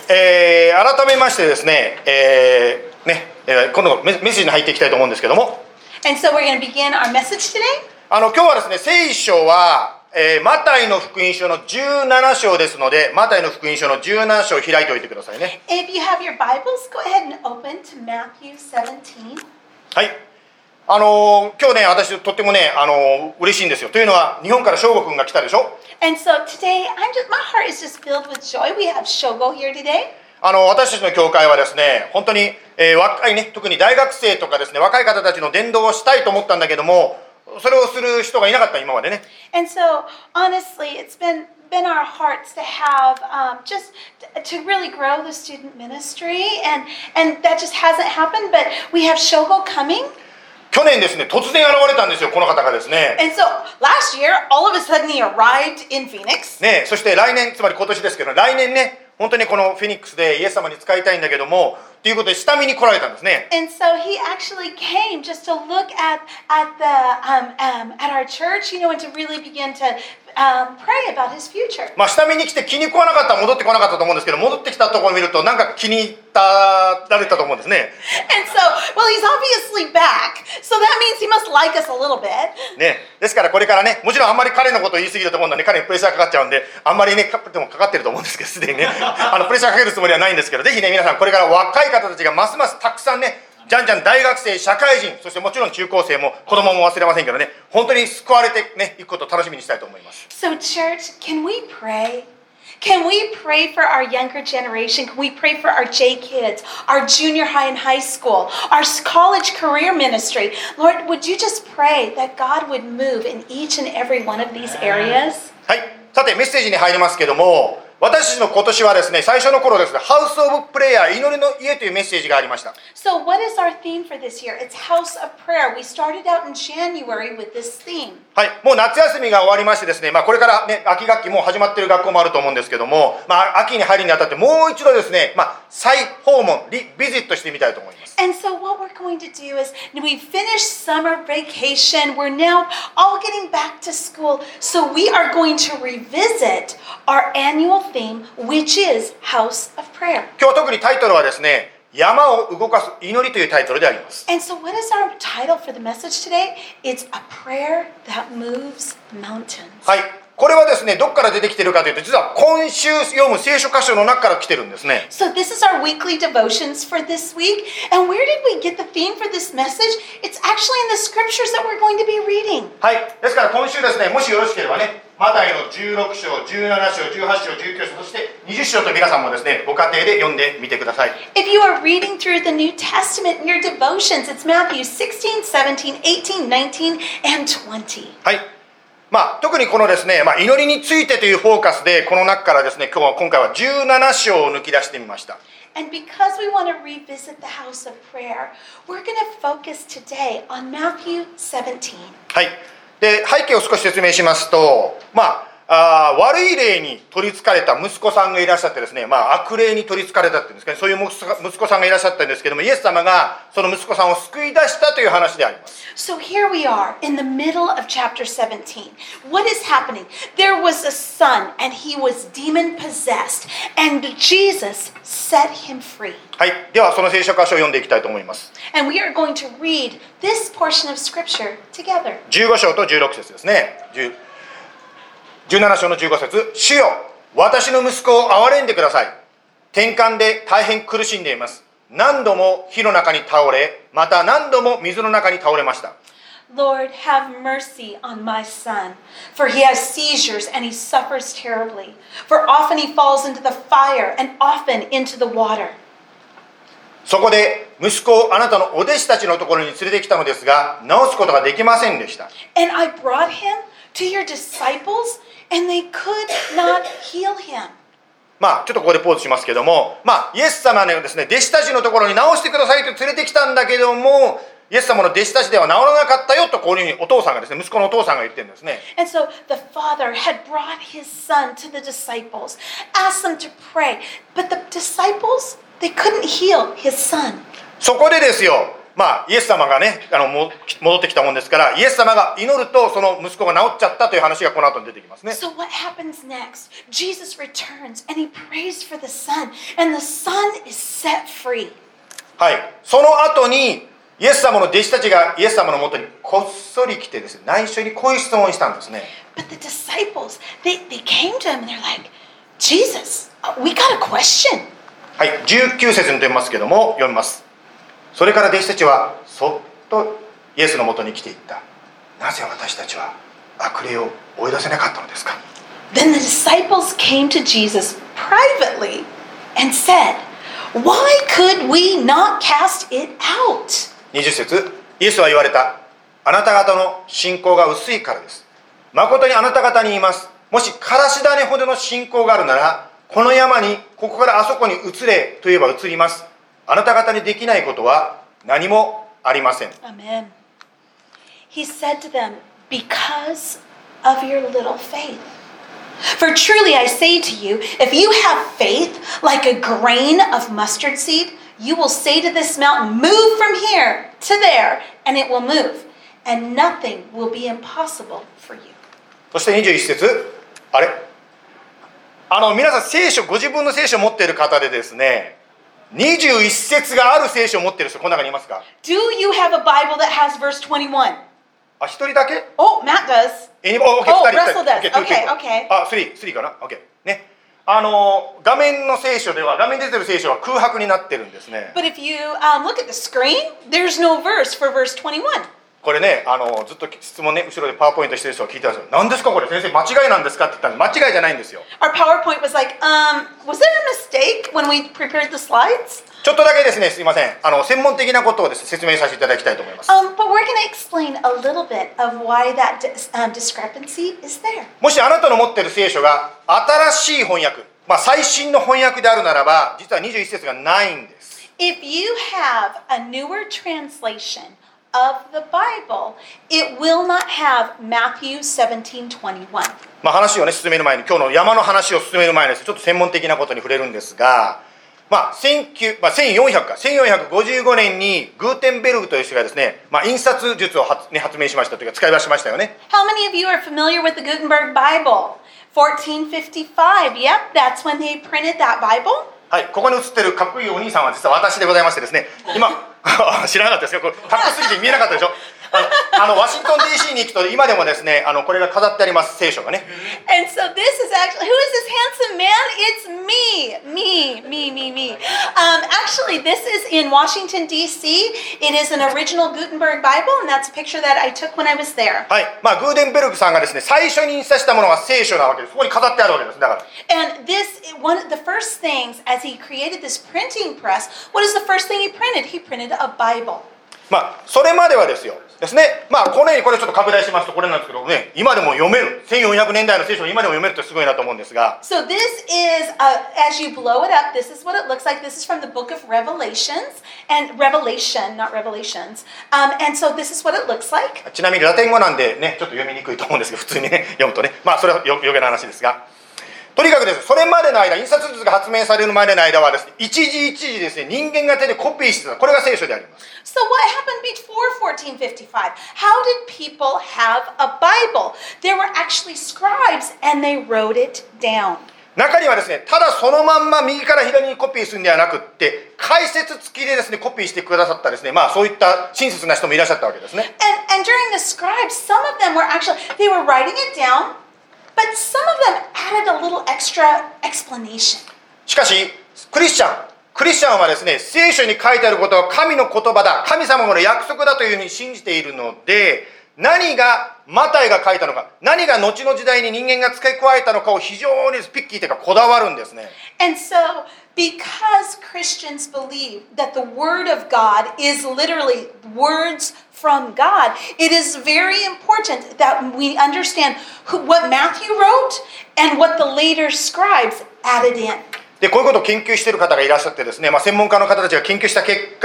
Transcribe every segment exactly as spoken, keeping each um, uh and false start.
えー、改めましてですね、えーねえー、今度メッセージに入っていきたいと思うんですけども、 And so we're going to begin our message today. あの今日はですね、聖書は、えー、マタイの福音書のじゅうなな章ですので、マタイの福音書のじゅうなな章を開いておいてくださいね。 If you have your Bibles, go ahead and open to Matthew seventeen. はい。あのー、今日ね、私とってもね、あのー、嬉しいんですよ。というのは、日本から翔吾くんが来たでしょ。 And so today, I'm just, my heart is just filled with joy. We have Shogo here today. あの私たちの教会はですね、本当に、えー、若いね、特に大学生とかですね、若い方たちの伝道をしたいと思ったんだけども、それをする人がいなかった今までね。 And so honestly, it's been been our hearts to have um, just to really grow the student ministry, and and that just hasn't happened. But we have Shogo coming. 去年ですね、突然現れたんですよ、この方がですね。 And so last year, all of a sudden he arrived in Phoenix. ね、そして来年、つまり今年ですけど、来年ね、本当にこのフェニックスでイエス様に使いたいんだけども、ということで下見に来られたんですね。 And so he actually came just to look at at the um, um, at our church, you know, and to really begin to um, pray about his future. まあ下見に来て気に食わなかったら戻ってこなかったと思うんですけど、戻ってきたところを見るとなんか気に入ったられたと思うんですね。 And so, well, he's obviously back, so that means he must like us a little bit. ね、ですからこれからね、もちろんあんまり彼のことを言い過ぎると思うんで、ね、彼にプレッシャーかかっちゃうんで、あんまりね、でもかかってると思うんですけど、すでにね、あのプレッシャーかけるつもりはないんですけど、ぜひね、皆さんこれから若い方たちがますますたくさんね、じゃんじゃん大学生、社会人、そしてもちろん中高生も子供も忘れませんけどね、本当に救われてね、いくことを楽しみにしたいと思います。 So, church, can we pray? Can we pray for our younger generation? Can we pray for our J kids, our junior high and high school, our college career ministry? Lord, would you just pray that God would move in each and every one of these areas? はい、さてメッセージに入りますけども、私たちの今年はですね、最初の頃ですね、ハウス・オブ・プレイヤー、祈りの家というメッセージがありました。 So what is our theme for this year? It's House of Prayer. We started out in January with this theme. はい、もう夏休みが終わりましてですね、まあ、これからね、秋学期もう始まっている学校もあると思うんですけども、まあ、秋に入るにあたってもう一度ですね、まあ、再訪問、リビジットしてみたいと思います。 And so what we're going to do is we finished summer vacation. We're now all getting back to school. So we are going to revisit our annual theme, which is House of Prayer. 今日は特にタイトルはですね、山を動かす祈りというタイトルであります。 And so what is our title for the message today? It's a prayer that moves mountains. はい。これはですね、どこから出てきているかというと、実は今週読む聖書箇所の中から来てるんですね。 So this is our weekly devotions for this week. And where did we get the theme for this message? It's actually in the scriptures that we're going to be reading. はい。ですから今週ですね、もしよろしければね、マタイのじゅうろく章、じゅうなな章、じゅうはち章、じゅうきゅう章、そしてにじゅう章と皆さんもですね、ご家庭で読んでみてください。 If you are reading through the New Testament in your devotions, it's Matthew sixteen, seventeen, eighteen, nineteen, and twenty. はい。まあ、特にこのですね、まあ、祈りについてというフォーカスで、この中からですね、今日は今回はじゅうなな章を抜き出してみました。 And because we want to revisit the house of prayer, we're going to focus today on Matthew seventeen. はい。で、背景を少し説明しますと、まあ、あ悪い霊に取りつかれた息子さんがいらっしゃってですね、まあ、悪霊に取りつかれたっていうんですかね、そういう息子さんがいらっしゃったんですけども、イエス様がその息子さんを救い出したという話であります。 So here we are in the middle of chapter seventeen. What is happening? There was a son and he was demon possessed, and Jesus set him free. はい。ではその聖書箇所を読んでいきたいと思います。 And we are going to read this portion of scripture together. じゅうご章とじゅうろく節ですね。じゅうなな章のじゅうご節。主よ、私の息子を憐れんでください。転換で大変苦しんでいます。何度も火の中に倒れ、また何度も水の中に倒れました。 Lord, have mercy on my son, for he has seizures and he suffers terribly. For often he falls into the fire and often into the water. そこで息子をあなたのお弟子たちのところに連れてきたのですが、治すことができませんでした。 And I brought him to your disciples, and they could not heal him. まあ、ちょっとここでポーズしますけども、まあ、イエス様のですね、弟子たちのところに治してくださいと連れてきたんだけども、イエス様の弟子たちでは治らなかったよとこういうふうにお父さんがですね、息子のお父さんが言ってるんですね。 And so the father had brought his son to the disciples, asked them to pray, but the disciples, they couldn't heal his son. そこでですよ、 まあ、イエス様がね、あのも戻ってきたもんですから、イエス様が祈るとその息子が治っちゃったという話がこの後に出てきますね。 So what happens next? Jesus returns and he prays for the son, and the son is set free. はい、その後にイエス様の弟子たちがイエス様のもとにこっそり来てですね、内緒にこういう質問をしたんですね。 But the disciples, they, they came to him and they're like, Jesus, we got a question. はい、じゅうきゅう節に出ますけども、読みます。それから弟子たちはそっとイエスのもとに来ていった。なぜ私たちは悪霊を追い出せなかったのですか？ Then the disciples came to Jesus privately and said, Why could we not cast it out? にじゅう節、イエスは言われた。あなた方の信仰が薄いからです。誠にあなた方に言います。もしからし種ほどの信仰があるなら、この山にここからあそこに移れと言えば移ります。あなた方にできないことは何もありません。 Amen. He said to them, Because of your little faith. For truly I say to you, if you have faith like a grain of mustard seed, you will say to this mountain, Move from here to there, and it will move, and nothing will be impossible for you. そしてにじゅういち節、あれあの皆さん聖書、ご自分の聖書を持っている方でですね、にじゅういち節がある聖書を持っている人、この中にいますか？ Do you have a Bible that has verse twenty-one? あ、一人だけ？ Oh, Matt does. Any- oh, okay, Oh, 二人、 Russell does. 二人 Okay, two, two. okay. あ、スリー、スリーかな？ OK。ね。あの、画面の聖書では、画面に出てる聖書は空白になってるんですね。 But if you um, look at the screen, there's no verse for verse twenty-one. これね、あの、ずっと質問ね、後ろでパワーポイントしてる人が聞いてたんですよ。何ですかこれ？先生、間違いなんですかって言ったんで、間違いじゃないんですよ。 Our PowerPoint was like, um, was there a mistake when we prepared the slides? ちょっとだけですね、すいません。あの、専門的なことをですね、説明させていただきたいと思います。 Um, but we're going to explain a little bit of why that dis- um, discrepancy is there. もしあなたの持っている聖書が新しい翻訳、まあ、最新の翻訳であるならば、実はにじゅういち節がないんです。 If you have a newer translation of the Bible, it will not have Matthew seventeen twenty-one. まあ、話をね、進める前に、今日の山の話を進める前にですね、ちょっと専門的なことに触れるんですが、まあ、せんきゅうまあ、せんよんひゃくか、せんよんひゃくごじゅうごねんにグーテンベルグという人がですね、まあ、印刷術を発、ね、発明しましたというか、使い出しましたよね。 How many of you are familiar with the Gutenberg Bible? fourteen fifty-five. Yep, that's when they printed that Bible. はい、ここに写ってるかっこいいお兄さんは実は私でございましてですね、今、知らなかったですか？これかっこすぎて見えなかったでしょ？あの、あのワシントン ディーシー に行くと今でもですね、あのこれが飾ってあります、聖書がね。 And so this is actually, who is this handsome man? It's me, me, me, me, me. Um, actually, this is in Washington, D C. It is an original Gutenberg Bible, and that's a picture that I took when I was there. はい、まあグーデンベルグさんがですね、最初に印刷したものが聖書なわけです。そこに飾ってあるわけです。だから。 And this, one of the first things, as he created this printing press, what is the first thing he printed? He printed a Bible. まあそれまではですよ。ですね。まあこのようにこれちょっと拡大しますとこれなんですけどね、今でも読める。せんよんひゃくねんだいの聖書を今でも読めるってすごいなと思うんですが。 So this is, uh, as you blow it up, this is what it looks like. This is from the book of Revelations, and Revelation, not Revelations. Um, and so this is what it looks like. ちなみにラテン語なんでね、ちょっと読みにくいと思うんですけど、普通にね読むとね、まあそれはよ余計な話ですが。とにかくですね、それまでの間、印刷術が発明されるまでの間はですね、一時一時ですね、人間が手でコピーしてた。これが聖書であります。 So what happened before fourteen fifty-five? How did people have a Bible? There were actually scribes, and they wrote it down. 中にはですね、ただそのまんま右から左にコピーするんではなくって、解説付きでですね、コピーしてくださったですね、まあそういった親切な人もいらっしゃったわけですね。 And, and during the scribes, some of them were actually, they were writing it down, but some of them added a little extra explanation. しかし、クリスチャン、クリスチャンはですね、聖書に書いてあることは神の言葉だ、神様の約束だというふうに信じているので、何がマタイが書いたのか、何が後の時代に人間が付け加えたのかを非常にピッキーというかこだわるんですね。 And so, because Christians believe that the Word of God is literally words from God, it is very important that we understand who, what Matthew wrote and what the later scribes added in. で、こういうことを研究している方がいらっしゃってですね、まあ、専門家の方たちが研究した結果、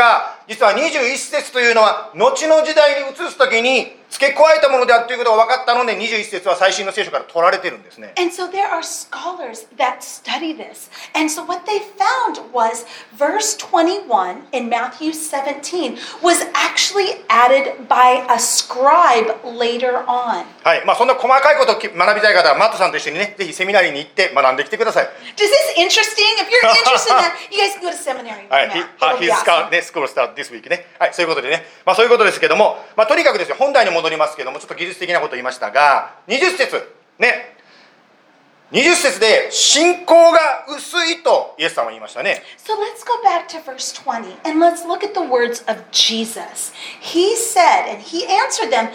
実はにじゅういち節というのは後の時代に移すときに付け加えたものであるということが分かったので、にじゅういち節は最新の聖書から取られてるんですね。 And so there are scholars that study this. And so what they found was verse twenty-one in Matthew seventeen was actually added by a scribe later on. はい、まあそんな細かいことを学びたい方はマットさんと一緒にね、ぜひセミナリーに行って学んできてください。 Is this interesting? If you're interested in that, you guys can go to seminary with はい、 Matt. He- It'll be His awesome. scout- ね、school start this week ね。はい、そういうことでね、まあそういうことですけども、まあとにかくですよ、本題に戻りますけども、ちょっと技術的なことを言いましたが、にじゅう節ね、にじゅう節で信仰が薄いとイエス様は言いましたね。 So let's go back to verse twenty and let's look at the words of Jesus. He said, and he answered them,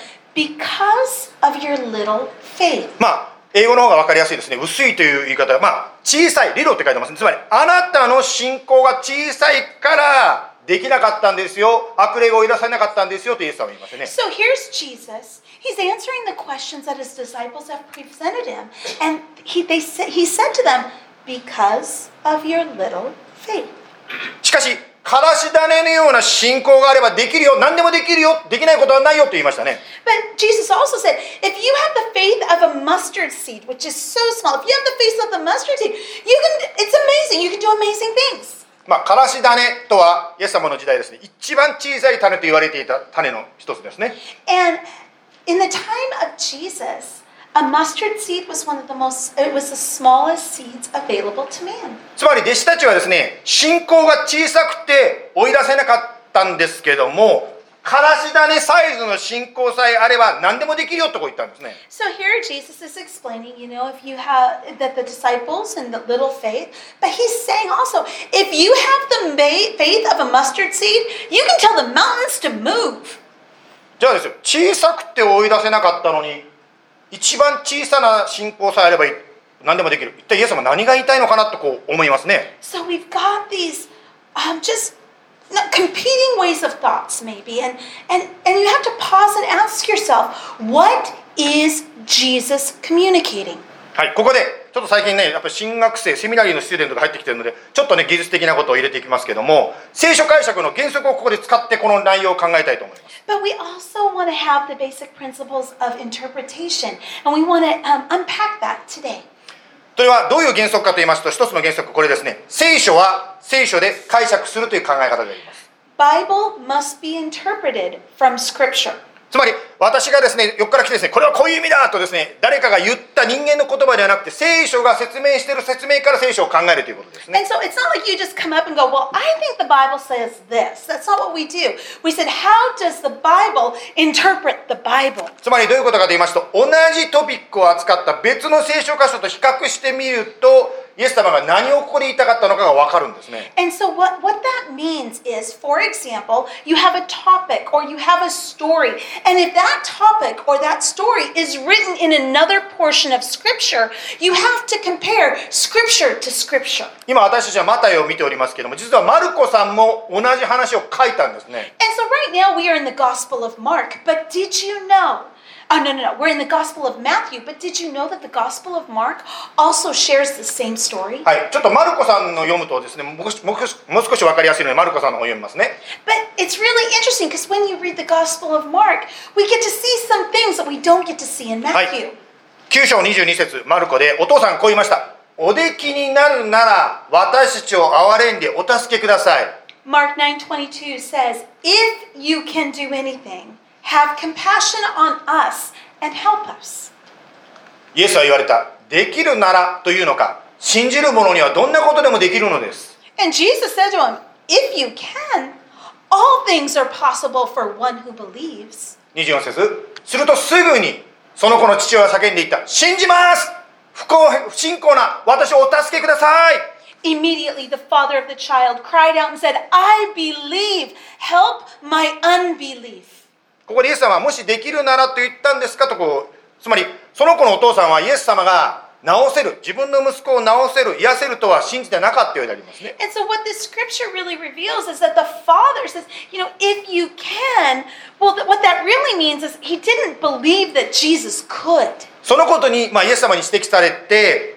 because of your little faith. まあ英語の方が分かりやすいですね。薄いという言い方は、まあ小さい、リロって書いてますね。つまりあなたの信仰が小さいからできなかったんですよ、悪霊が追い出されなかったんですよとイエス様は言いますね。 So here's Jesus. He's answering the questions that his disciples have presented him. And he, they sa- he said to them, because of your little faith. しかしからし種のような信仰があればできるよ、何でもできるよ、できないことはないよと言いましたね。 But Jesus also said, if you have the faith of a mustard seed, which is so small, if you have the faith of the mustard seed, you can, it's amazing. You can do amazing things. まあからし種とはイエス様の時代ですね、一番小さい種と言われていた種の一つですね。 And in the time of Jesus, a mustard seed was one of the most, it was the smallest seeds available to man. つまり弟子たちはですね、信仰が小さくて追い出せなかったんですけども、からし種サイズの信仰さえあれば何でもできるよとこう言ったんですね。 So here Jesus is explaining, you know, if you have that the disciples and the little faith, but he's saying also, if you have the ma- faith of a mustard seed, you can tell the mountains to move. じゃあですよ、小さくて追い出せなかったのに一番小さな信仰さえあれば何でもできる。一体イエス様は何が言いたいのかなとこう思いますね。 So we've got these um, just not competing ways of thoughts maybe, and, and, and you have to pause and ask yourself, what is Jesus communicating? はい、ここでちょっと最近ね、やっぱり新学生、セミナリーのスチューデントが入ってきてるので、ちょっとね技術的なことを入れていきますけども、聖書解釈の原則をここで使ってこの内容を考えたいと思います。 But we also want to have the basic principles of interpretation, and we want to um, unpack that today. それはどういう原則かと言いますと、一つの原則これですね。聖書は聖書で解釈するという考え方であります。 Bible must be interpreted from Scripture. つまり私がですね、横から来てですね、これはこういう意味だとですね、誰かが言った人間の言葉ではなくて、聖書が説明している説明から聖書を考えるということですね。 And so it's not like you just come up and go, well, I think the Bible says this. That's not what we do. We said, how does the Bible interpret the Bible? つまりどういうことかと言いますと、同じトピックを扱った別の聖書箇所と比較してみると、イエス様が何をここで言いたかったのかが分かるんですね。 And so what, what that means is, for example, you have a topic or you have a story. And if that topic or that story is written in another portion of Scripture, you have to compare Scripture to Scripture. 今私たちはマタイを見ておりますけども、実はマルコさんも同じ話を書いたんですね。 And so right now we are in the Gospel of Mark. But did you know? Oh, no, no, no. We're in the Gospel of Matthew. But did you know that the Gospel of Mark also shares the same story? はい、ちょっとマルコさんの読むとですね、もう少しもう少しもう少し分かりやすいのでマルコさんの方を読みますね。 But it's really interesting because when you read the Gospel of Mark, we get to see some things that we don't get to see in はい Matthew. きゅう章にじゅうに節マルコでお父さんこう言いました。おできになるなら私たちを憐れんでお助けください。 Mark nine twenty-two says, if you can do anything, have compassion on us and help us. イエスは言われた。できるならというのか、信じる者にはどんなことでもできるのです。 And Jesus said to him, if you can, all things are possible for one who believes. にじゅうよん節するとすぐにその子の父親は叫んでいった。信じます不幸不信仰な私をお助けください。 Immediately the father of the child cried out and said, I believe, help my unbelief. ここでイエス様はもしできるならと言ったんですかとこう、つまりその子のお父さんはイエス様が治せる、自分の息子を治せる、癒せるとは信じてなかったようでありますね。 And so what this scripture really reveals is that the father says, you know, if you can, well, th- what that really means is he didn't believe that Jesus could. そのことに、まあ、イエス様に指摘されて、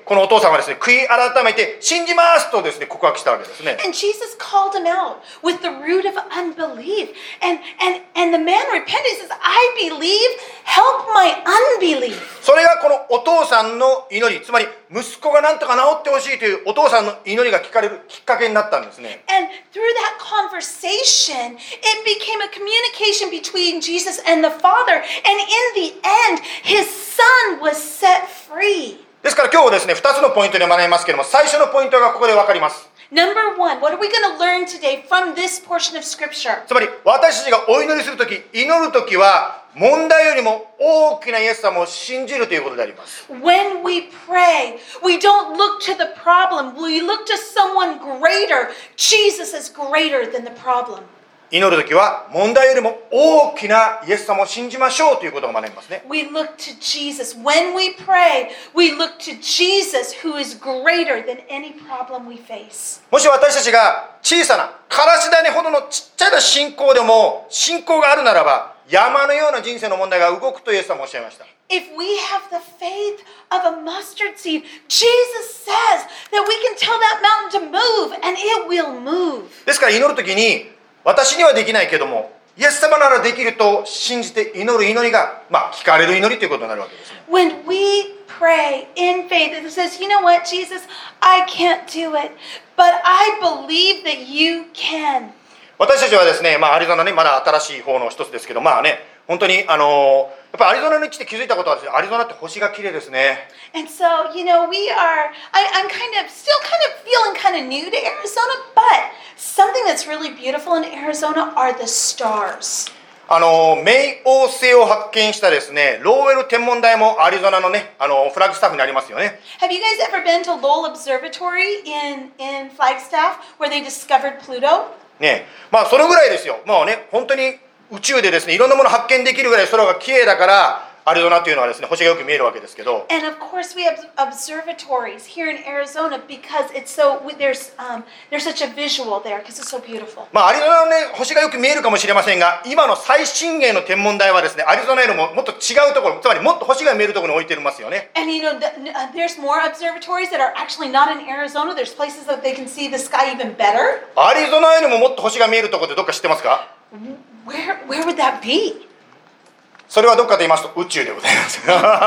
このお父さんはですね、悔い改めて信じますとですね、告白したわけですね。 And Jesus called him out with the root of unbelief. And, and, and the man repented. He says, I believe, help my unbelief. それがこのお父さんの祈り、つまり息子がなんとか治ってほしいというお父さんの祈りが聞かれるきっかけになったんですね。 And through that conversation, it became a communication between Jesus and the Father. And in the end, his son was set free. ですから今日はですね、ふたつのポイントで学びますけれども、最初のポイントがここで分かります。 Number one, what are we going to learn today from this portion of Scripture? つまり私たちがお祈りするとき、祈るときは問題よりも大きなイエス様を信じるということであります。 When we pray, we don't look to the problem. We look to someone greater. Jesus is greater than the problem. 祈るときは問題よりも大きなイエス様を信じましょうということを学びますね。 We look to Jesus. When we pray, we look to Jesus who is greater than any problem we face. もし私たちが小さなからし種ほどのちっちゃな信仰でも信仰があるならば、山のような人生の問題が動くとイエス様おっしゃいました。 If we have the faith of a mustard seed, Jesus says that we can tell that mountain to move and it will move. ですから祈るときに、私にはできないけども、イエス様ならできると信じて祈る祈りが、まあ、聞かれる祈りということになるわけですね。 When we pray in faith, it says, you know what, Jesus, I can't do it, but I believe that you can. 私たちはですね、まあ、アリゾナね、まだ新しい方の一つですけど、まあね、本当に、あのー、やっぱりアリゾナに来て気づいたことはですね、アリゾナって星が綺麗ですね。 And so, you know, we are, I, I'm kind of, still kind of feeling kind of new to Arizona, but something that's really beautiful in Arizona are the stars. あのー、冥王星を発見したですね、ローウェル天文台もアリゾナのね、あのー、フラッグスタッフにありますよね。 Have you guys ever been to Lowell Observatory in, in Flagstaff where they discovered Pluto? ね、まあそれぐらいですよ。まあね、本当に宇宙でですね、いろんなものを発見できるぐらい空が綺麗だから、アリゾナというのはですね、星がよく見えるわけですけど。 And of course we have observatories here in Arizona because it's so there's um, there's such a visual there because it's so beautiful. まあアリゾナのね、星がよく見えるかもしれませんが、今の最新鋭の天文台はですね、アリゾナよりももっと違うところ、つまりもっと星が見えるところに置いてますよね。 And you know, the, uh, there's more observatories that are actually not in Arizona. There's places that they can see the sky even better. アリゾナよりももっと星が見えるところってどっか知ってますか？ Where where would that be? それはどっかと言いますと宇宙でございます。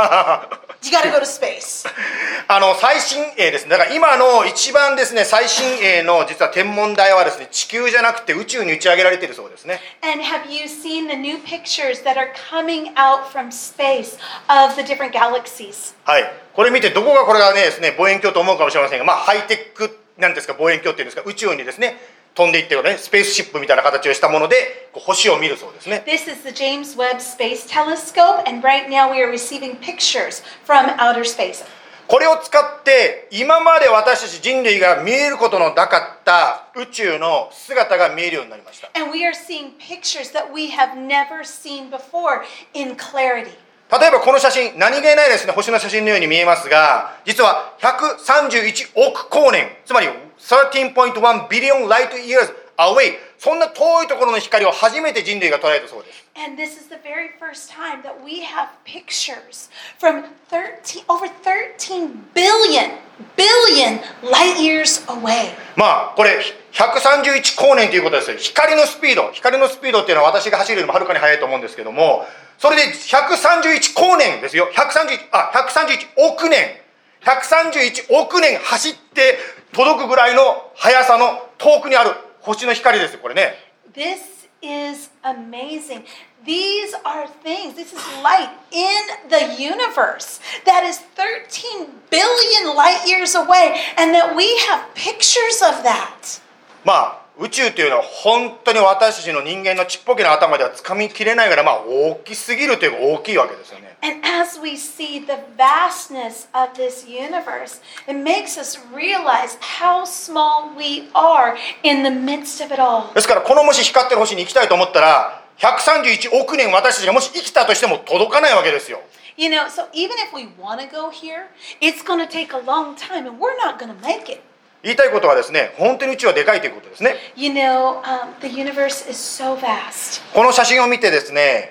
You gotta go to space. あの最新鋭ですね。だから今の一番ですね、最新鋭の実は天文台はですね、地球じゃなくて宇宙に打ち上げられているそうですね。 And have you seen the new pictures that are coming out from space of the different galaxies? はい。これ見てどこがこれがねですね、望遠鏡と思うかもしれませんが、まあハイテックなんですか、望遠鏡っていうんですか、宇宙にですね。飛んでいってるね、スペースシップみたいな形をしたものでこう星を見るそうですね。 This is the James Webb Space Telescope, and right now we are receiving pictures from outer space. これを使って今まで私たち人類が見えることのなかった宇宙の姿が見えるようになりました。 And we are seeing pictures that we have never seen before in clarity. 例えばこの写真、何気ないですね、星の写真のように見えますが、実はひゃくさんじゅういちおく光年、つまり じゅうさんてんいちビリオンライトイヤーズ away、 そんな遠いところの光を初めて人類が捉えたそうです。 And this is the very first time that we have pictures from thirteen over thirteen billion billion light years away. まあこれひゃくさんじゅういち光年ということですよ。光のスピード、光のスピードっていうのは私が走るよりもはるかに速いと思うんですけども、それでひゃくさんじゅういち光年ですよ。ひゃくさんじゅういちあひゃくさんじゅういちおく年、ひゃくさんじゅういちおく年走って届くぐらいの速さの遠くにある星の光ですよ、これね。 This is amazing. These are things, this is light in the universe that is thirteen billion light years away, and that we have pictures of that. まあ宇宙というのは本当に私たちの人間のちっぽけな頭ではつかみきれないぐらい、まあ大きすぎるというか大きいわけですよね。 And as we see the vastness of this universe, it makes us realize how small we are in the midst of it all. ですからこのもし光ってる星に行きたいと思ったらひゃくさんじゅういちおく年私たちがもし生きたとしても届かないわけですよ。 You know, so even if we want to go here, it's going to take a long time and we're not going to make it. 言いたいことはですね、本当に宇宙はでかいということですね。 You know, um, the universe is so vast. この写真を見てですね、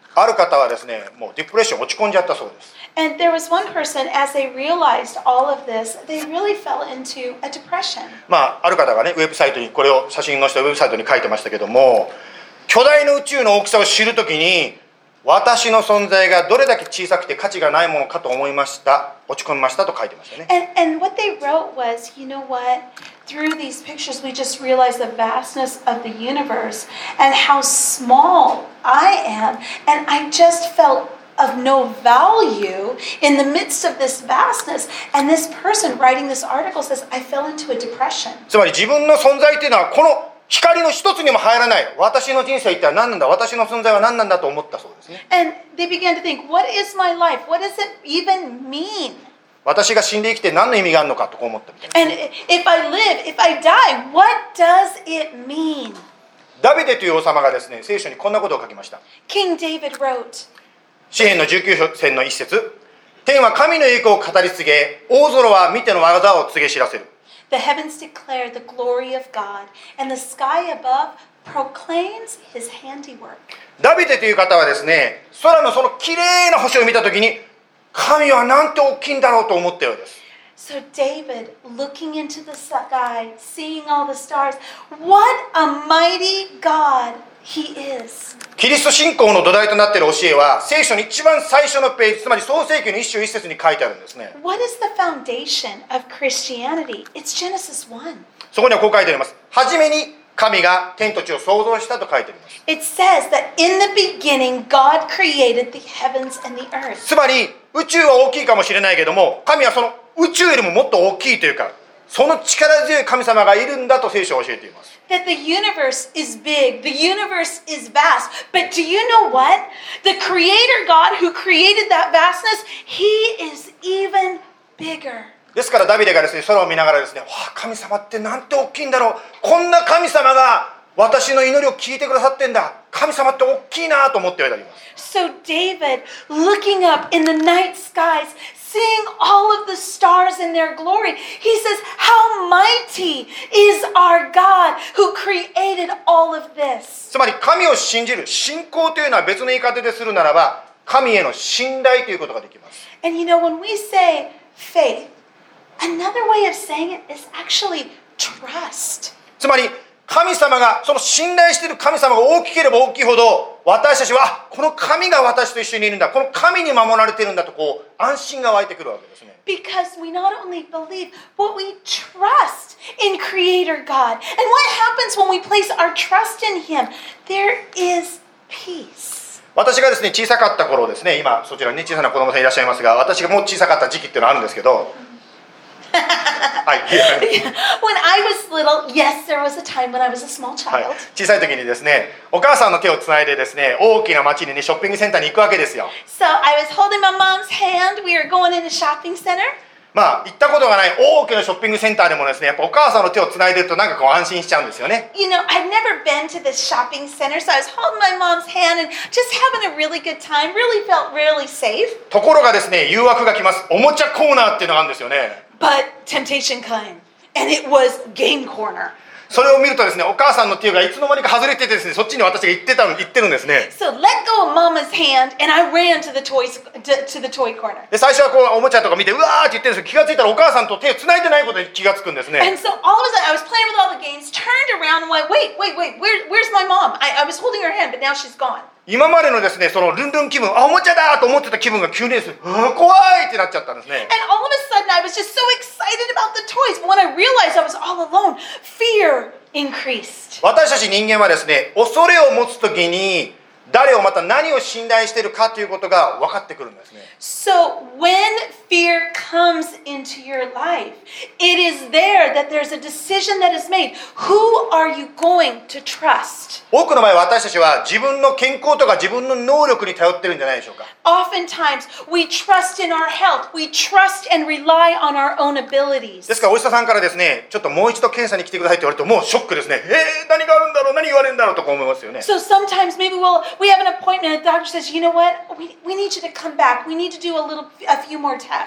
ある方はですね、もうディプレッション落ち込んじゃったそうです。 And there was one person, as they realized all of this, they really fell into a depression. まあ、ある方がね、ウェブサイトに、これを写真のしたウェブサイトに書いてましたけども、巨大な宇宙の大きさを知るときに、私の存在がどれだけ小さくて価値がないものかと思いました。落ち込みましたと書いてましたね。 And, and what they wrote was, you know what? Through these pictures, we just realized the vastness of the universe and how small I am. And I just felt of no value in the midst of this vastness. And this person writing this article says, I fell into a depression. つまり自分の存在というのはこの光の一つにも入らない。私の人生一体何なんだ、私の存在は何なんだと思ったそうですね。 And they began to think, what is my life? What does it even mean? 私が死んで生きて何の意味があるのかとこう思ったみたいな。 And if I live, if I die, what does it mean? ダビデという王様がですね、聖書にこんなことを書きました。 King David wrote, 詩編のじゅうきゅう編の一節。天は神の栄光を語り継げ、大空は見ての技を告げ知らせる。 The heavens declare the glory of God, and the sky above proclaims his handiwork. ダビデという方はですね、空のその綺麗な星を見たときに、神はなんて大きいんだろうと思ったようです。 So David, looking into the sky, seeing all the stars, what a mighty God he is. キリスト信仰の土台となっている教えは、聖書の一番最初のページ、つまり創世記の一章一節に書いてあるんですね。 What is the foundation of Christianity? It's Genesis one. そこにはこう書いてあります。はじめに神が天と地を創造したと書いてあります。 It says that in the beginning, God created the heavens and the earth. つまり宇宙は大きいかもしれないけども、神はその宇宙よりももっと大きいというか、その力強い神様がいるんだと聖書は教えています。 That the universe is big, the universe is vast. But do you know what? The Creator God who created that vastness, He is even bigger. ですからダビデがですね、空を見ながらですね、わあ、神様ってなんて大きいんだろう。こんな神様が私の祈りを聞いてくださってんだ。神様って大きいなと思っております。 So David, looking up in the night skies, seeing all of the stars in their glory, he says, how mighty is our God who created all of this. つまり神を信じる信仰というのは別の言い方でするならば、神への信頼ということができます。 And you know, when we say faith, another way of saying it is actually trust. つまり神様が、その信頼している神様が大きければ大きいほど、私たちはこの神が私と一緒にいるんだ、この神に守られているんだとこう安心が湧いてくるわけですね。 Because we not only believe, but we trust in Creator God. And what happens when we place our trust in Him? There is peace. 私がですね、小さかった頃ですね、今そちらに、ね、小さな子供さんいらっしゃいますが、私がもう小さかった時期っていうのがあるんですけど、はい、 When I was little, yes, there was a time when I was a small はい child. 小さい時にですね、お母さんの手をつないでですね、大きな街にね、ショッピングセンターに行くわけですよ。 So I was holding my mom's hand. We were going in a shopping center. まあ行ったことがない大きなショッピングセンターでもですね、やっぱお母さんの手をつないでるとなんかこう安心しちゃうんですよね。 You know, I'd never been to this shopping center, so I was holding my mom's hand and just having a really good time. Really felt really safe. ところがですね、誘惑が来ます。おもちゃコーナーっていうのがあるんですよね。 But temptation came, and it was game corner. それを見るとですね、お母さんの手がいつの間にか外れててですね、そっちに私が行ってたの、行ってるんですね。 So let go of Mama's hand, and I ran to the toys to, to the toy corner. で最初はこうおもちゃとか見てうわーって言ってるんですけど、気がついたらお母さんと手をつないでないことに気がつくんですね。 And so all of a sudden, I was playing with all the games, turned around, and went, "Wait, wait, wait! Where, where's my mom? I, I was holding her hand, but now she's gone." 今までのですね、そのルンルン気分、あ、おもちゃだと思ってた気分が急にですね、あ、怖いってなっちゃったんですね。 And all of a sudden, I was just so excited about the toys. But when I realized I was all alone, fear increased. 私たち人間はですね、恐れを持つときに誰をまた何を信頼しているかということが分かってくるんですね。 So when fear comes into your life, it is there that there's a decision that is made. Who are you going to trust? 多くの場合私たちは自分の健康とか自分の能力に頼ってるんじゃないでしょうか。 Oftentimes, we trust in our health. We trust and rely on our own abilities. ですからお医者さんからですね、ちょっともう一度検査に来てくださいって言われるともうショックですね。えー、何があるんだろう、何言われるんだろうとか思いますよね。 So sometimes maybe we'll, we have an appointment and the doctor says, you know what, we, we need you to come back. We need to do a little, a few more tests.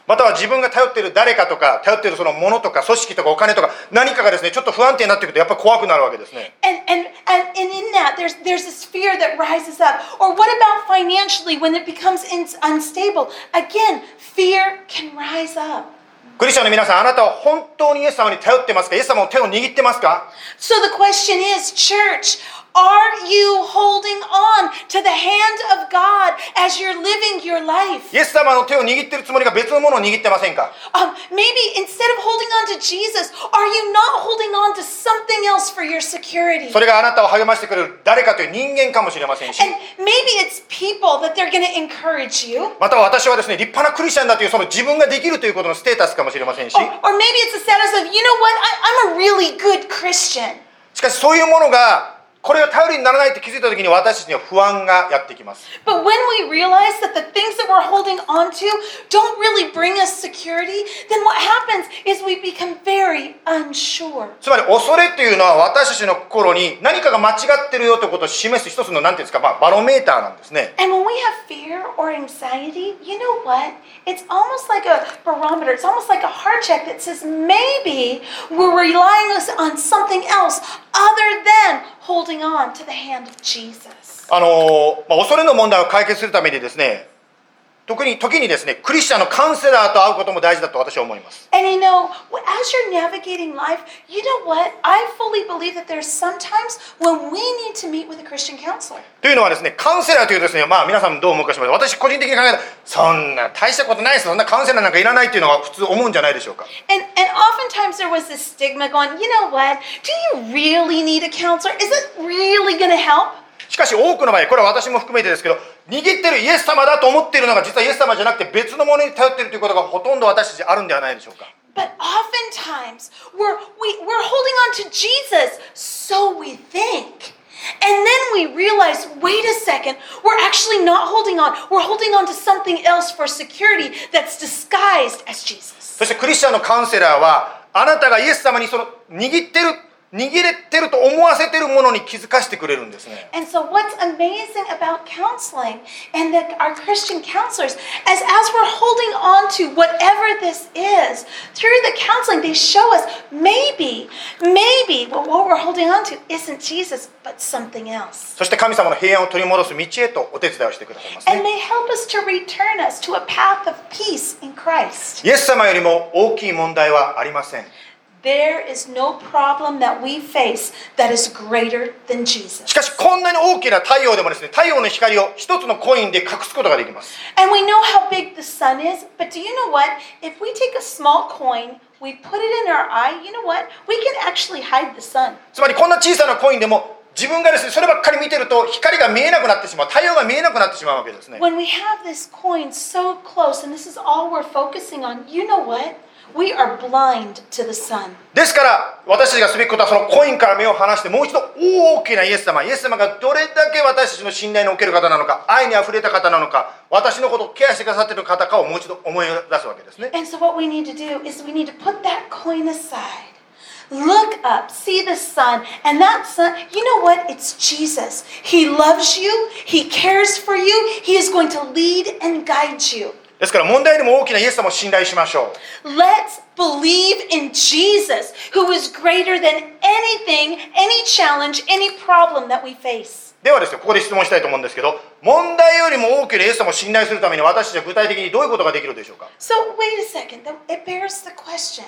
または自分が頼っている誰かとか、頼っているそのものとか組織とかお金とか何かがですね、ちょっと不安定になってくるとやっぱり怖くなるわけですね。 And, and, and, and in that, there's, there's this fear that rises up. Or what about financially when it becomes in, unstable? Again, fear can rise up. クリスチャンの皆さん、あなたは本当にイエス様に頼ってますか？イエス様の手を握ってますか？ So the question is, church, are you holding on to the hand of God as you're living your life? イエス様の手を握ってるつもりが別のものを握ってませんか？ Um, maybe instead of holding on to Jesus, are you not holding on to something else for your security? それがあなたを励ましてくれる誰かという人間かもしれませんし、 And maybe it's people that they're going to encourage you. または私はですね、立派なクリスチャンだというその自分ができるということのステータスかもしれませんし、 Or, or maybe it's the status of, you know what, I, I'm a really good Christian. しかしそういうものがこれが頼りにならないって気づいた時に私たちには不安がやってきます。 But when we realize that the things that we're holding on to don't really bring us security, then what happens is we become very unsure. つまり恐れというのは私たちの心に何かが間違ってるよということを示す一つの何ていうんですか、まあ、バロメーターなんですね。 And when we have fear or anxiety, you know what? It's almost like a barometer. It's almost like a heart check that says maybe we're relying on something else other than holding on to the hand of Jesus. あのまあ、恐れの問題を解決するためにですね、特に時にですね、クリスチャンのカウンセラーと会うことも大事だと私は思います。 And you know, as you're navigating life, you know what? I fully believe that there's sometimes when we need to meet with a Christian counselor. というのはですね、カウンセラーというですね、まあ皆さんどう思うかしら、私個人的に考えたらそんな大したことないです、そんなカウンセラーなんかいらないっていうのが普通思うんじゃないでしょうか。 And and oftentimes there was this stigma going, you know what? Do you really need a counselor? Is it really going to help? しかし多くの場合、これは私も含めてですけど、握ってるイエス様だと思っているのが実はイエス様じゃなくて別のものに頼っているということがほとんど私たちあるんではないでしょうか。 But oftentimes we're we, we're holding on to Jesus, so we think. And then we realize, wait a second, we're actually not holding on. We're holding on to something else for security that's disguised as Jesus. そしてクリスチャンのカウンセラーはあなたがイエス様にその握ってる握れてると思わせてるものに気づかせてくれるんですね。 And so what's amazing about counseling and that our Christian counselors, as, as we're holding on to whatever this is, through the counseling, they show us maybe, maybe what we're holding on to isn't Jesus, but something else. そして神様の平安を取り戻す道へとお手伝いをしてくださいます And ね。 they help us to return us to a path of peace in Christ. イエス様よりも大きい問題はありません。 There is no problem that we face that is greater than Jesus. しかしこんなに大きな太陽でもですね、太陽の光を一つのコインで隠すことができます。 And we know how big the sun is, but do you know what? If we take a small coin, we put it in our eye, you know what? We can actually hide the sun. つまりこんな小さなコインでも自分がですね、そればっかり見てると光が見えなくなってしまう、太陽が見えなくなってしまうわけですね。 When we have this coin so close, and this is all we're focusing on, you know what? We are blind to the sun. ですから私たちがすべきことはそのコインから目を離してもう一度大きなイエス様、イエス様がどれだけ私たちの信頼のおける方なのか、愛にあふれた方なのか、私のことをケアしてくださっている方かをもう一度思い出すわけですね。 And so what we need to do is we need to put that coin aside. Look up, see the sun, and that sun, you know what? It's Jesus. He loves you, He cares for you, He is going to lead and guide you. ですから問題よりも大きなイエス様を信頼しましょう。 Let's believe in Jesus, who is greater than anything, any challenge, any problem that we face. ではですね、ここで質問したいと思うんですけど、問題よりも大きなイエス様を信頼するために私たちは具体的にどういうことができるでしょうか。 So wait a second, it bears the question.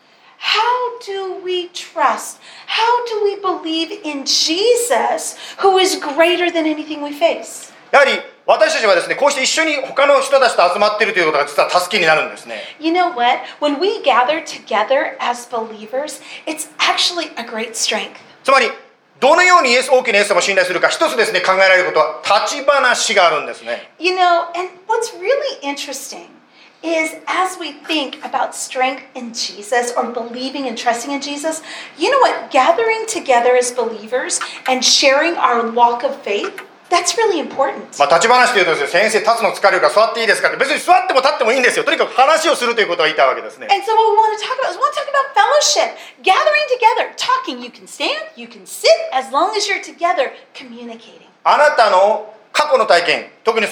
How do we trust? How do we believe in Jesus, who is greater than anything we face? やはり私たちはですね、こうして一緒に他の人たちと集まっているということが実は助けになるんですね。 You know what? When we gather together as believers, it's actually a great strength. つまりどのようにイエス大きなイエス様を信頼するか、一つですね、考えられることは立ち話があるんですね。 You know, and what's really interesting is as we think about strength in Jesus or believing and trusting in Jesus, you know what? Gathering together as believers and sharing our walk of faith, that's really important. まあ立ち話というとですね、先生立つの疲れるから座っていいですかって、別に座っても立ってもいいんですよ。とにかく話をするということが言いたいわけですね。 And so what we want to talk about is we want to talk about fellowship, gathering together, talking. You can stand, you can sit, as long as you're together communicating. あなたの過去の体験、特にその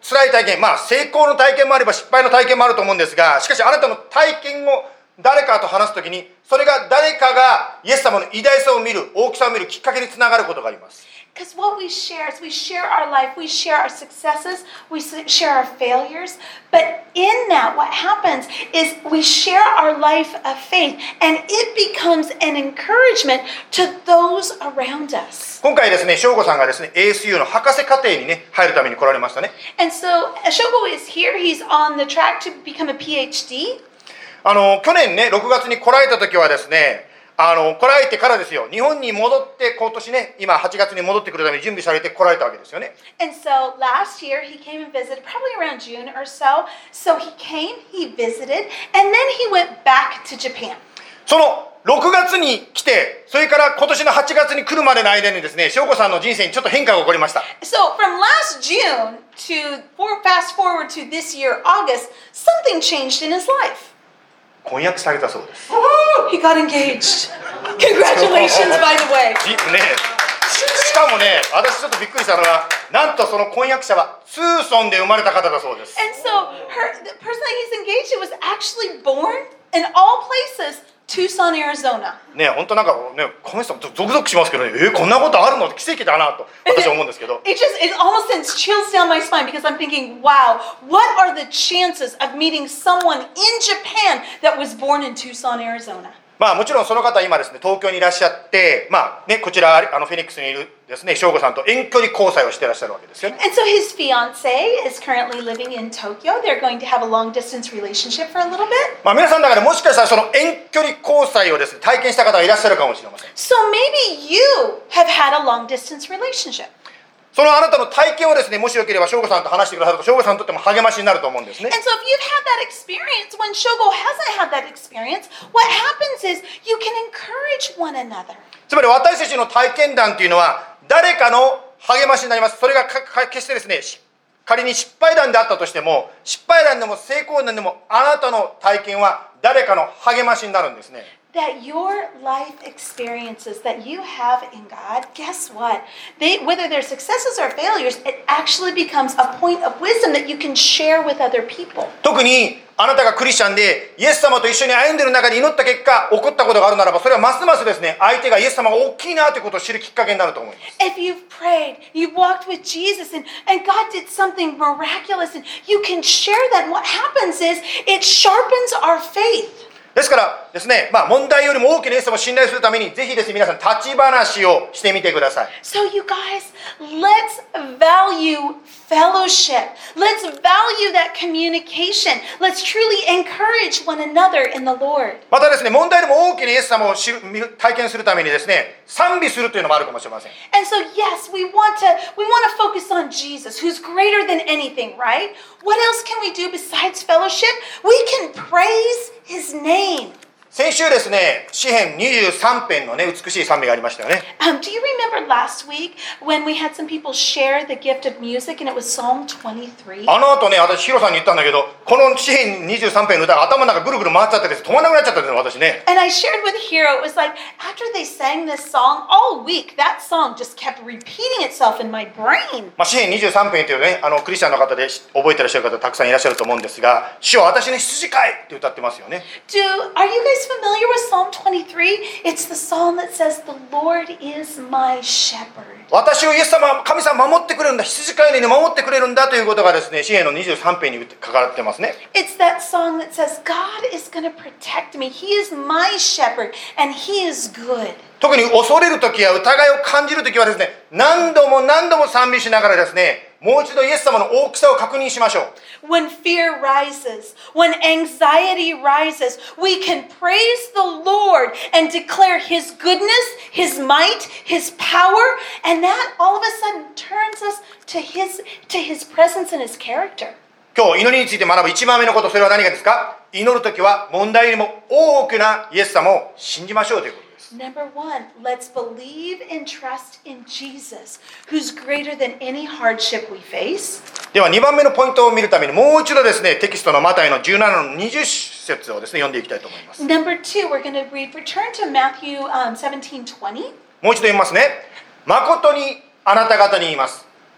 辛い体験、まあ成功の体験もあれば失敗の体験もあると思うんですが、しかしあなたの体験を誰かと話すときに、それが誰かがイエス様の偉大さを見る、大きさを見るきっかけにつながることがあります。 Because what we share is we share our life, we share our successes, we share our failures. But in that, what happens is we share our life of faith, and it becomes an encouragement to those around us. 今回ですね、翔吾さんがですね、エーエスユー の博士課程にね、入るために来られましたね。 And so, Shogo is here. He's on the track to become a P H D. あの、去年ね、ろくがつに来られた時はですね、あの来られてからですよ、日本に戻って今年ね、今はちがつに戻ってくるために準備されて来られたわけですよね。 And so last year he came and visited, probably around June or so. So he came, he visited, and then he went back to Japan. そのろくがつに来て、それから今年のはちがつに来るまでの間にですね、翔吾さんの人生にちょっと変化が起こりました。 So from last June to fast forward to this year, August, something changed in his life. 婚約されたそうです。 He got engaged. Congratulations, by the way. ね、し, しかもね、私ちょっとびっくりしたのが、なんとその婚約者はツーソンで生まれた方だそうです。 And so her, the person that he's engaged to was actually born in all places, Tucson, Arizona. ね、本当なんかね、この人ゾクゾクしますけどね、えー、こんなことあるのって奇跡だなと私は思うんですけど。 It just it almost sends chills down my spine because I'm thinking, wow, what are the chances of meeting someone in Japan that was born in Tucson, Arizona? まあもちろんその方は今ですね、東京にいらっしゃって、まあね、こちらあのフェニックスにいるですね、翔吾さんと遠距離交際をしていらっしゃるわけですよね。 And so his fiancée is currently living in Tokyo. They're going to have a long distance relationship for a little bit. まあ皆さんだからもしかしたらその遠距離交際をですね、体験した方がいらっしゃるかもしれません。 So maybe you have had a long distance relationship. そのあなたの体験をですね、もしよければ翔吾さんと話してくださると、翔吾さんにとっても励ましになると思うんですね。 And so if you've had that experience, when Shogo hasn't had that experience, what happens is you can encourage one another. つまり私たちの体験談というのは誰かの励ましになります。それがかか決してですね、仮に失敗談であったとしても、失敗談でも成功談でも、あなたの体験は誰かの励ましになるんですね。 That your life experiences that you have in God, guess what? They, whether they're successes or failures, it actually becomes a point of wisdom that you can share with other people. 特にあなたがクリスチャンでイエス様と一緒に歩んでいる中で祈った結果起こったことがあるならば、それはますますですね、相手がイエス様が大きいなということを知るきっかけになると思います。 If you've prayed, you've walked with Jesus, and, and God did something miraculous, and you can share that. And what happens is it sharpens our faith. ですからですね、まあ問題よりも大きなイエス様を信頼するために、ぜひですね、皆さん立ち話をしてみてください。 So you guys, let's value fellowship. Let's value that communication. Let's truly encourage one another in the Lord. またですね、問題よりも大きなイエス様を知る体験するためにですね、賛美するというのもあるかもしれません。 And so yes, we want to we want to focus on Jesus, who's greater than anything, right? What else can we do besides fellowship? We can praise His name. 先週ですね、詩編にじゅうさん編のね、美しい賛美がありましたよね。 Um, do you remember last week when we had some people share the gift of music and it was Psalm twenty-three? あの後ね、私ヒロさんに言ったんだけど、この詩編にじゅうさん編の歌が頭の中ぐるぐる回っちゃってです、止まらなくなっちゃったんですよ、私ね。 And I shared with Hiro, it was like after they sang this song all week, that song just kept repeating itself in my brain. まあ、詩編にじゅうさん編というね、あのクリスチャンの方で覚えてらっしゃる方たくさんいらっしゃると思うんですが、主は私の羊飼いって歌ってますよね。 Do are you guys familiar with Psalm twenty-three? It's the psalm that says, "The Lord is my shepherd." 私をイエス様、神様守ってくれるんだ、羊飼いのように守ってくれるんだということがですね、詩編のにじゅうさん編に書かれてますね。 It's that song that says, "God is going to protect me. He is my shepherd, and He is good." 特に恐れるときや疑いを感じるときはですね、何度も何度も賛美しながらですね、もう一度イエス様の大きさを確認しましょう。 When fear rises, when anxiety rises, we can praise the Lord and declare His goodness, His might, His power, and that all of a sudden turns us to His, to His presence and His character. 今日祈りについて学ぶ一番目のこと、それは何かですか？祈るときは問題よりも大きなイエス様を信じましょうということです。 Number one, let's believe and trust in Jesus, who's greater than any hardship we face. ではにばんめのポイントを見るためにもう一度ですね、テキストのマタイのじゅうななのにじゅっ節をですね、読んでいきたいと思います。 Number two, we're going to read, return to Matthew、um, seventeen twenty. もう一度読みますね。誠にあなた方に言います。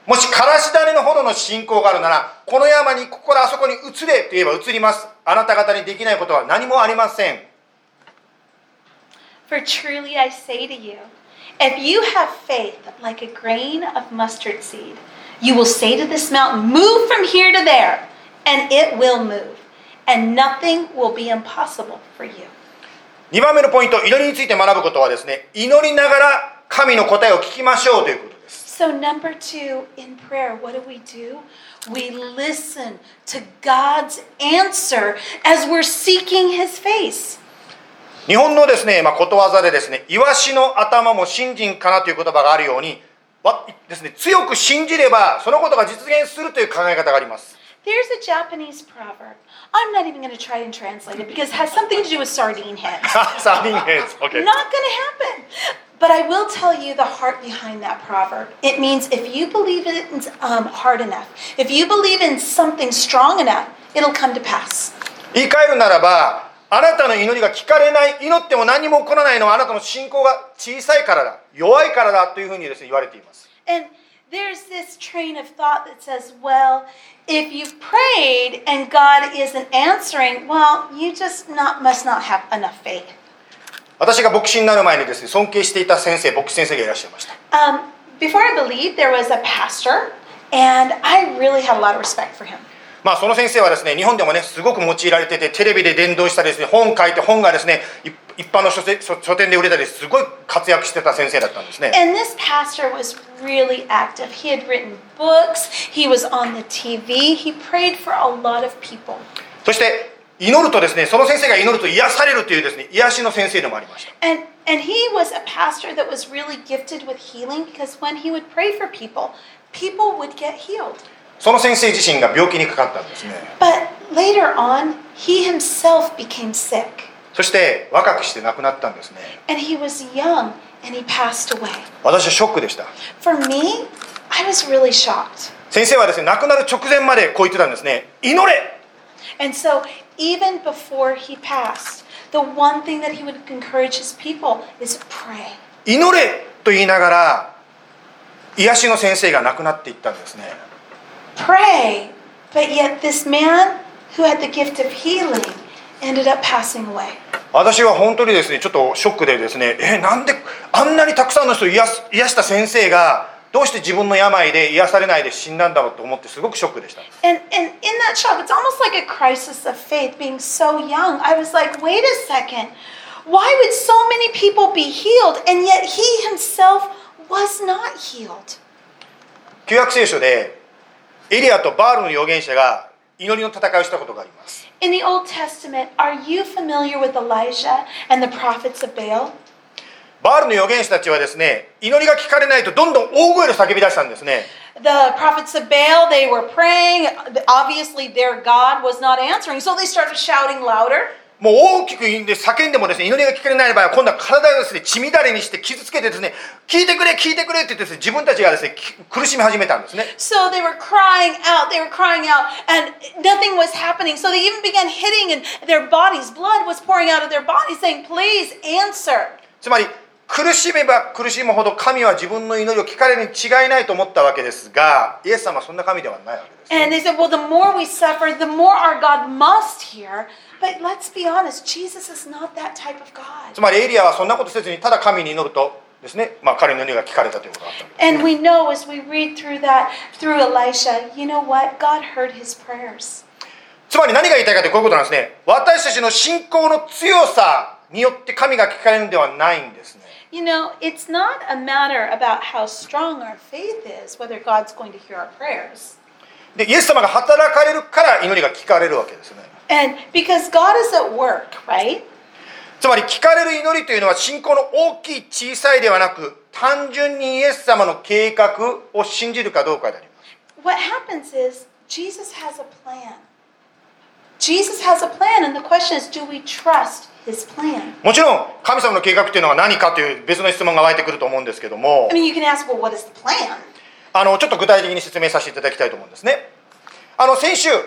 もしからし種のほどの信仰があるなら、この山にここからあそこに移れと言えば移ります。あなた方にできないことは何もありません。 For truly I say to you, if you have faith like a grain of mustard seed, you will say to this mountain, move from here to there, and it will move, and nothing will be impossible for you. にばんめのポイント、祈りについて学ぶことはですね、祈りながら神の答えを聞きましょうということです。 So number two, in prayer, what do we do? We listen to God's answer as we're seeking His face. 日本のですね、まあ、ことわざでですね、イワシの頭も信心かなという言葉があるように、わですね、強く信じればそのことが実現するという考え方があります。 There's a Japanese proverb. I'm not even going to try and translate it because it has something to do with sardine heads. Sardine heads, okay. Not going to happen. But I will tell you the heart behind that proverb. It means if you believe it um, hard enough, if you believe in something strong enough, it'll come to pass. 言い換えるならば、あなたの祈りが聞かれない、祈っても何も起こらないのはあなたの信仰が小さいからだ、弱いからだというふうにですね、言われています。 And there's this train of thought that says, well, if you've prayed and God isn't answering, well, you just not, must not have enough faith. 私が牧師になる前にですね、尊敬していた先生、牧師先生がいらっしゃいました。 Um, before I believed, there was a pastor, and I really had a lot of respect for him. まあその先生はですね、日本でもね、すごく用いられてて、テレビで伝道したりですね、本書いて本がですね、一般の書店、書店で売れたり、すごい活躍してた先生だったんですね。 And this pastor was really active. He had written books. He was on the T V. He prayed for a lot of people. そして祈るとですね、その先生が祈ると癒されるというですね、癒しの先生でもありました。 And and he was a pastor that was really gifted with healing because when he would pray for people, people would get healed. その先生自身が病気にかかったんですね。 But later on, he himself became sick. そして若くして亡くなったんですね。 And he was young and he passed away. 私はショックでした。 For me, I was really shocked. 先生はですね、亡くなる直前までこう言ってたんですね。祈れ。 And so even before he passed, the one thing that he would encourage his people is pray. 祈れと言いながら癒しの先生が亡くなっていったんですね。 Pray, but yet this man who had the gift of healing ended up passing away. 私は本当にですね、ちょっとショックでですね、え、なんであんなにたくさんの人を癒す、癒した先生がどうして自分の病で癒されないで死んだんだろうと思ってすごくショックでした。 And, and in that shock, it's almost like a crisis of faith being so young. I was like, wait a second. Why would so many people be healed and yet he himself was not healed? 旧約聖書でエリアとバールの預言者が祈りの戦いをしたことがあります。 In the Old Testament, are you familiar with Elijah and the prophets of Baal? バールの預言者たちはですね、祈りが聞かれないとどんどん大声で叫び出したんですね。 The prophets of Baal, they were praying. Obviously, their God was not answering, so they started shouting louder. もう大きく叫んでもですね、祈りが聞かれない場合は今度は体をですね、血乱れにして傷つけてですね、聞いてくれ聞いてくれって言ってですね、自分たちがですね、苦しみ始めたんですね。 So they were crying out, they were crying out, and nothing was happening. So they even began hitting, and their bodies, blood was pouring out of their bodies, saying, "Please answer." つまり苦しめば苦しむほど神は自分の祈りを聞かれるに違いないと思ったわけですが、イエス様はそんな神ではないわけです、ね。 And they said, "Well, the more we suffer, the more our God must hear." But let's be honest, Jesus is not that type of God. つまりエリアはそんなことせずにただ神に祈るとですね、まあ彼の祈りが聞かれたということだったんです。 And we know as we read through that through Elisha, you know what? God heard his prayers. つまり何が言いたいかというとこういうことなんですね。私たちの信仰の強さによって神が聞かれるんではないんですね。 You know, it's not a matter about how strong our faith is, whether God's going to hear our prayers. で、イエス様が働かれるから祈りが聞かれるわけですね。 And because God is at work, right? つまり聞かれる祈りというのは信仰の大きい小さいではなく、単純にイエス様の計画を信じるかどうかであります。 What happens is Jesus has a plan. Jesus has a plan, and the question is, do we trust his plan? もちろん神様の計画というのは何かという別の質問が湧いてくると思うんですけども、 I mean, you can ask, well, what is the plan? あのちょっと具体的に説明させていただきたいと思うんですね。あの先週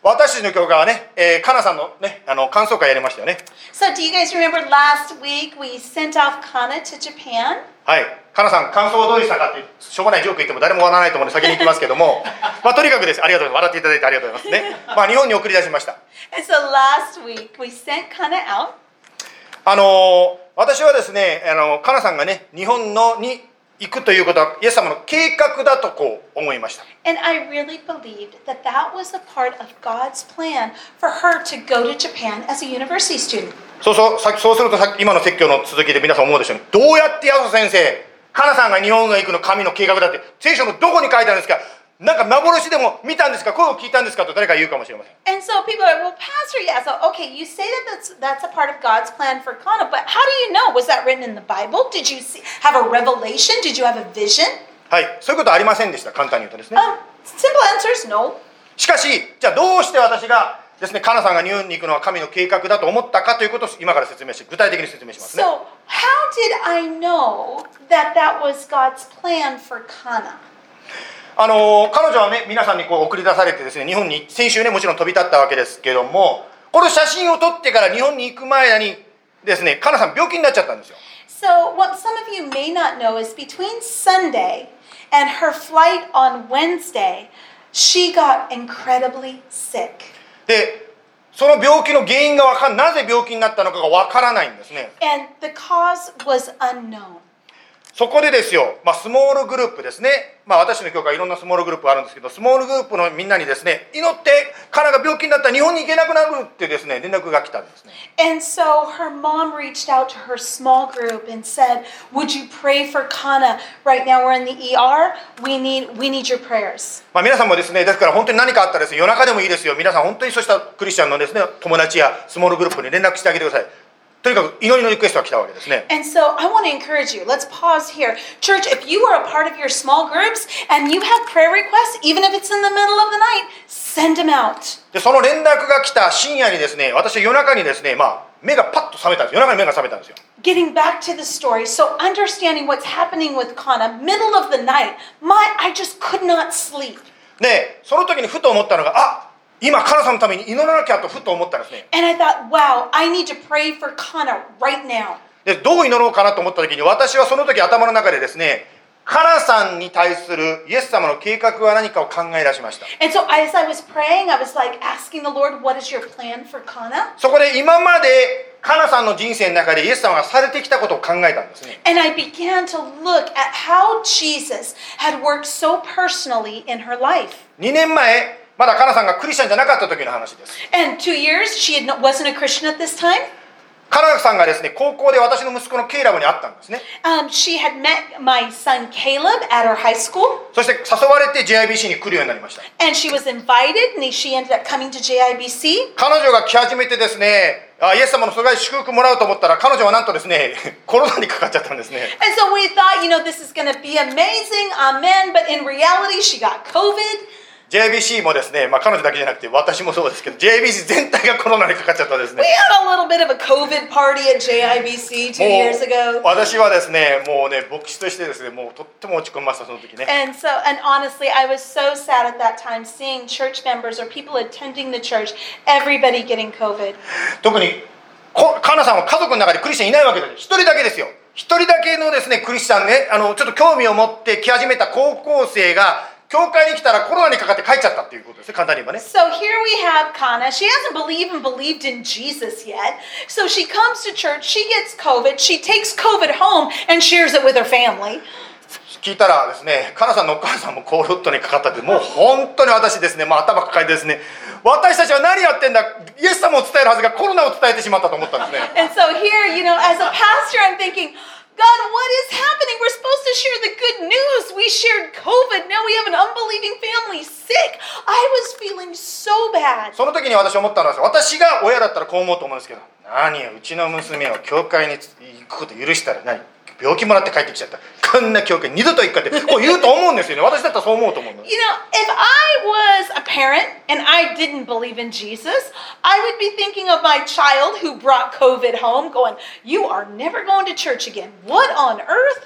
私たちの教会はね、えー、かなさんのね、あの感想会やりましたよね。 So, do you guys remember last week we sent off Kana to Japan? はい、かなさん感想はどうでしたかってしょうがないジョーク言っても誰も笑わないと思うので先に行きますけどもまあとにかくです。ありがとうございます。笑っていただいてありがとうございますね。まあ日本に送り出しました。 And so last week we sent Kana out. あのー、私はですね、あのかなさんがね日本のに行くということはイエス様の計画だとこう思いました。 And I really believed that that was a part of God's plan for her to go to Japan as a university student. そうそう、さそうするとさっき今の説教の続きで皆さん思うでしょうね。どうやってヤソ先生、かなさんが日本が行くの神の計画だって聖書のどこに書いてあるんですか、なんか幻でも見たんですか、声を聞いたんですかと誰か言うかもしれません。 And so people are like, well, Pastor, yeah, so okay, you say that that's, that's a part of God's plan for Kana, but how do you know? Was that written in the Bible? Did you see, have a revelation? Did you have a vision? はい、そういうことはありませんでした。簡単に言うとですね。 Um, simple answer is no. しかし、じゃあどうして私がですね、かなさんが日本に行くのは神の計画だと思ったかということを今から説明して具体的に説明しますね。 So how did I know that that was God's plan for Kana? あの彼女はね皆さんにこう送り出されてですね、日本に先週ねもちろん飛び立ったわけですけども、この写真を撮ってから日本に行く前にですね、かなさん病気になっちゃったんですよ。 So what some of you may not know is between Sunday and her flight on Wednesday, she got incredibly sick. でその病気の原因がわかんなぜ病気になったのかがわからないんですね。 And the cause was unknown. そこでですよ、まあ、スモールグループですね、まあ、私の教会いろんなスモールグループがあるんですけど、スモールグループのみんなにですね、祈ってカナが病気になったら日本に行けなくなるってですね連絡が来たんですね。 And so her mom reached out to her small group and said, would you pray for Kana? Right now we're in the E R. We need, we need your prayers. まあ、皆さんもですね、ですから本当に何かあったらですね、夜中でもいいですよ、皆さん本当にそうしたクリスチャンのですね友達やスモールグループに連絡してあげてください。とにかく祈りのリクエストが来たわけですね。 And so I want to encourage you. Let's pause here. Church, if you are a part of your small groups and you have prayer requests, even if it's in the middle of the night, send them out. でその連絡が来た深夜にですね、私は夜中にですね、まあ、目がパッと覚めたんです。夜中に目が覚めたんですよ。 Getting back to the story, so understanding what's happening with Kana, middle of the night, my I just could not sleep. でその時にふと思ったのが、あ、今カナさんのために祈らなきゃとふと思ったんですね。 And I thought, wow, I need to pray for Kana right now. でどう祈ろうかなと思った時に、私はその時頭の中でですね、カナさんに対するイエス様の計画は何かを考え出しました。 And so as I was praying, I was like asking the Lord, what is your plan for Kana? そこで今までカナさんの人生の中でイエス様がされてきたことを考えたんですね。 And I began to look at how Jesus had worked so personally in her life. にねんまえまだカナさんがクリスチャンじゃなかった時の話です。 And two years, she had no, wasn't a Christian at this time. カナさんがですね、高校で私の息子のケイラブに会ったんですね。 Um, she had met my son Caleb at her high school. そして誘われて ジェイアイビーシー に来るようになりました。 And she was invited, and she ended up coming to J I B C. 彼女が来始めてですね、あイエス様のすごい祝福もらうと思ったら、彼女はなんとですね、コロナにかかっちゃったんですね。 And so we thought, you know, this is going to be amazing, amen. But in reality, she got COVID. ジェイアイビーシー もですね、まあ、彼女だけじゃなくて私もそうですけど ジェイアイビーシー 全体がコロナにかかっちゃったですね。 We had a little bit of a COVID party at J I B C two years もう ago. 私はですね、もうね牧師としてですね、もうとっても落ち込みました、その時ね。 And so, and honestly, I was so sad at that time seeing church members or people attending the church, everybody getting COVID. 特にこカナさんは家族の中でクリスチャンいないわけです。一人だけですよ。一人だけのですねクリスチャンね、あのちょっと興味を持って来始めた高校生が教会に来たらコロナにかかって帰っちゃったっていうことですね、簡単に言えばね。 So here we have Kana. She hasn't believed and believed in Jesus yet. So she comes to church, she gets COVID, she takes COVID home and shares it with her family. 聞いたらですね、カナさんのお母さんもコロットにかかったって、もう本当に私ですね、もう頭抱えてですね、私たちは何やってんだ、イエス様を伝えるはずがコロナを伝えてしまったと思ったんですね。 And so here, you know, as a pastor, I'm thinking, God, what is happening? We're supposed to share the good news. We shared COVID. Now we have an unbelieving family sick. I was feeling so bad. その時に私思ったのは、私が親だったらこう思うと思うんですけど、何よ、うちの娘を教会に行くこと許したら何、病気もらって帰ってきちゃった、こんな教会二度と行くかってこう言うと思うんですよね。私だったらそう思うと思うの。 You know, if I was a parent and I didn't believe in Jesus, I would be thinking of my child who brought COVID home going, you are never going to church again. What on earth?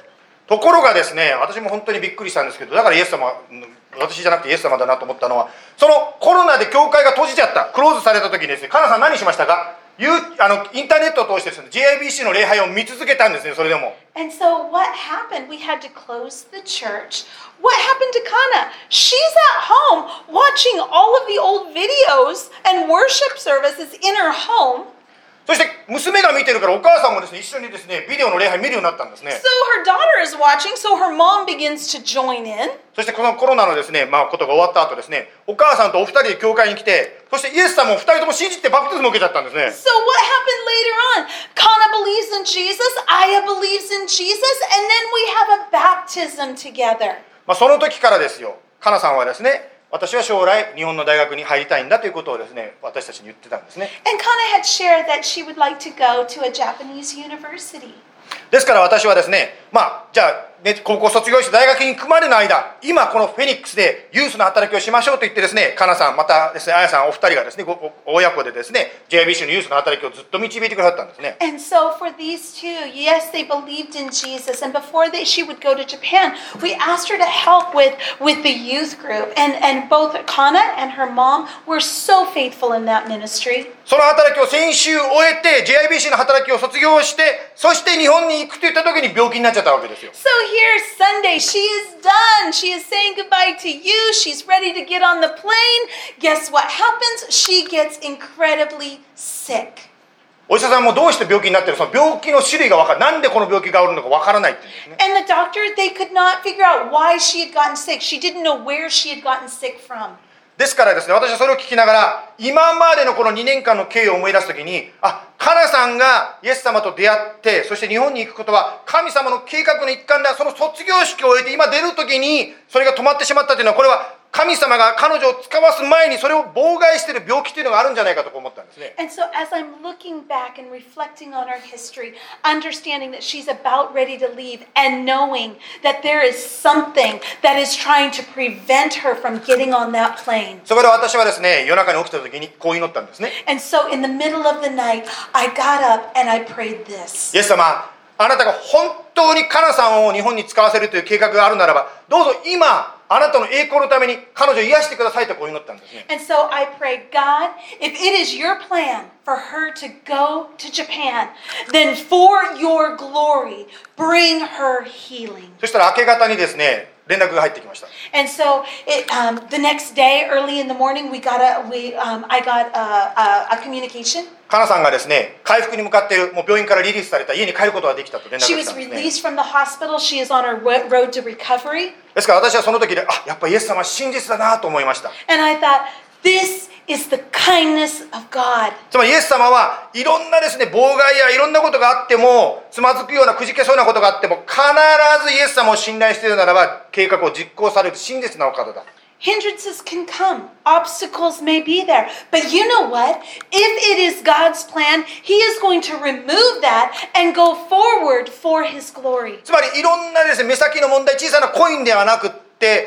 ところがですね、私も本当にびっくりしたんですけど、だからイエス様、私じゃなくてイエス様だなと思ったのは、そのコロナで教会が閉じちゃった、クローズされた時にですね、カナさん何しましたか？ユーあのインターネットを通してですね、ジェイアイビーシー の礼拝を見続けたんですね、それでも。 And so what happened? We had to close the church. What happened to Kana? She's at home watching all of the old videos and worship services in her home. そして娘が見てるからお母さんもですね、一緒にですね、ビデオの礼拝見るようになったんですね。 So her daughter is watching, so her mom begins to join in. そしてこのコロナのですね、まあことが終わった後ですね、お母さんとお二人で教会に来て、そしてイエス様を二人とも信じてバプテスマを受けちゃったんですね。 So what happened later on? Kana believes in Jesus, Aya believes in Jesus, and then we have a baptism together. まあその時からですよ、カナさんはですね、私は将来日本の大学に入りたいんだということをですね、私たちに言ってたんですね。 And Kana had shared that she would like to go to a Japanese university. ですから私はですね、まあじゃあ、ね、高校卒業して大学に行くまでの間、今このフェニックスでユースの働きをしましょうと言ってですね、カナさんまたですね、あやさんお二人がですね、ご親子でですね、ジェイアイビーシー のユースの働きをずっと導いてくださったんですね。 And so for these two, yes, they believed in Jesus. And before they, she would go to Japan, we asked her to help with, with the youth group. And, and both Kana and her mom were so faithful in that ministry. その働きを先週終えて ジェイアイビーシー の働きを卒業して、そして日本に行くと言った時に病気になっちゃったわけですよ。 So here Sunday, she is done. She is saying goodbye to you. She's ready to get on the plane. Guess what happens? She gets incredibly sick. お医者さんもどうして病気になってる、その病気の種類が分からない、なんでこの病気があるのか分からないって言うんですね。 And the doctor, they could not figure out why she had gotten sick. She didn't know where she had gotten sick from. ですからですね、私はそれを聞きながら、今までのこのにねんかんの経緯を思い出すときに、あ、カナさんがイエス様と出会って、そして日本に行くことは神様の計画の一環だ。その卒業式を終えて今出るときにそれが止まってしまったというのは、これは神様が彼女を使わす前にそれを妨害している病気というのがあるんじゃないかと思ったんですね。 And so as I'm looking back and reflecting on our history, understanding that she's about ready to leave and knowing that there is something that is trying to prevent her from getting on that plane. そこで私はですね、夜中に起きたときにこう祈ったんですね。 And so in the middle of the night, I got up and I prayed this. イエス様、あなたが本当にカナさんを日本に使わせるという計画があるならば、どうぞ今あなたの栄光のために彼女を癒してくださいとこう祈ったんですね。 And so I prayed, God, if it is your plan for her to go to Japan, then for your glory, bring her healing. そしたら明け方にですね、連絡が入ってきました。 And so it, um, the next day, early in the morning, we got a, we, um, I got a, a, a communication. カナさんがですね、回復に向かっている、もう病院からリリースされた、家に帰ることができたと連絡が She 来た was んですね。 released from the hospital. She is on her ro- road to recovery. ですから私はその時で、あ、やっぱりイエス様は真実だなと思いました。 And I thought, this is the kindness of God. つまりイエス様はいろんなですね、妨害やいろんなことがあっても、つまずくようなくじけそうなことがあっても、必ずイエス様を信頼しているならば、計画を実行される真実なお方だ。 Hindrances can come. Obstacles may be there. But you know what? If it is God's plan, He is going to remove that and go forward for His glory. つまりいろんなですね、目先の問題、小さなコインではなくって、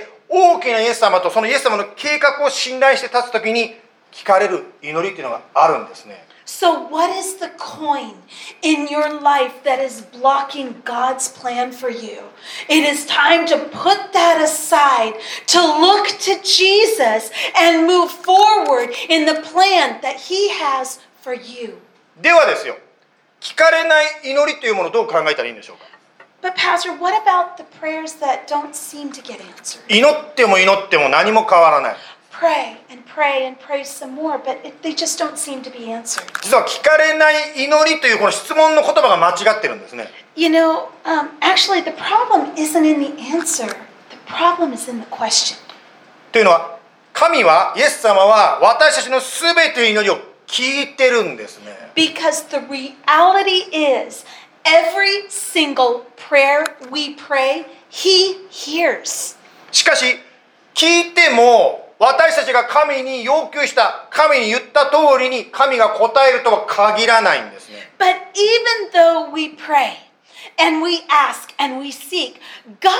大きなイエス様とそのイエス様の計画を信頼して立つときに聞かれる祈りというのがあるんですね。 So what is the coin in your life that is blocking God's plan for you? It is time to put that aside, to look to Jesus and move forward in the plan that He has for you. ではですよ、聞かれない祈りというものをどう考えたらいいんでしょうか。 But Pastor, what about the prayers that don't seem to get answered? 祈っても祈っても何も変わらない。 Pray and pray and pray some more, but it, they just don't seem to be answered. 実は聞かれない祈りというこの質問の言葉が間違ってるんですね。 You know, um, actually the problem isn't in the answer. The problem is in the question. というのは、神は、イエス様は私たちのすべての祈りを聞いてるんですね。 Because the reality is, every single prayer we pray, He hears. しかし、聞いても私たちが神に要求した、神に言った通りに神が答えるとは限らないんですね。 But even though we pray and we ask and we seek, God's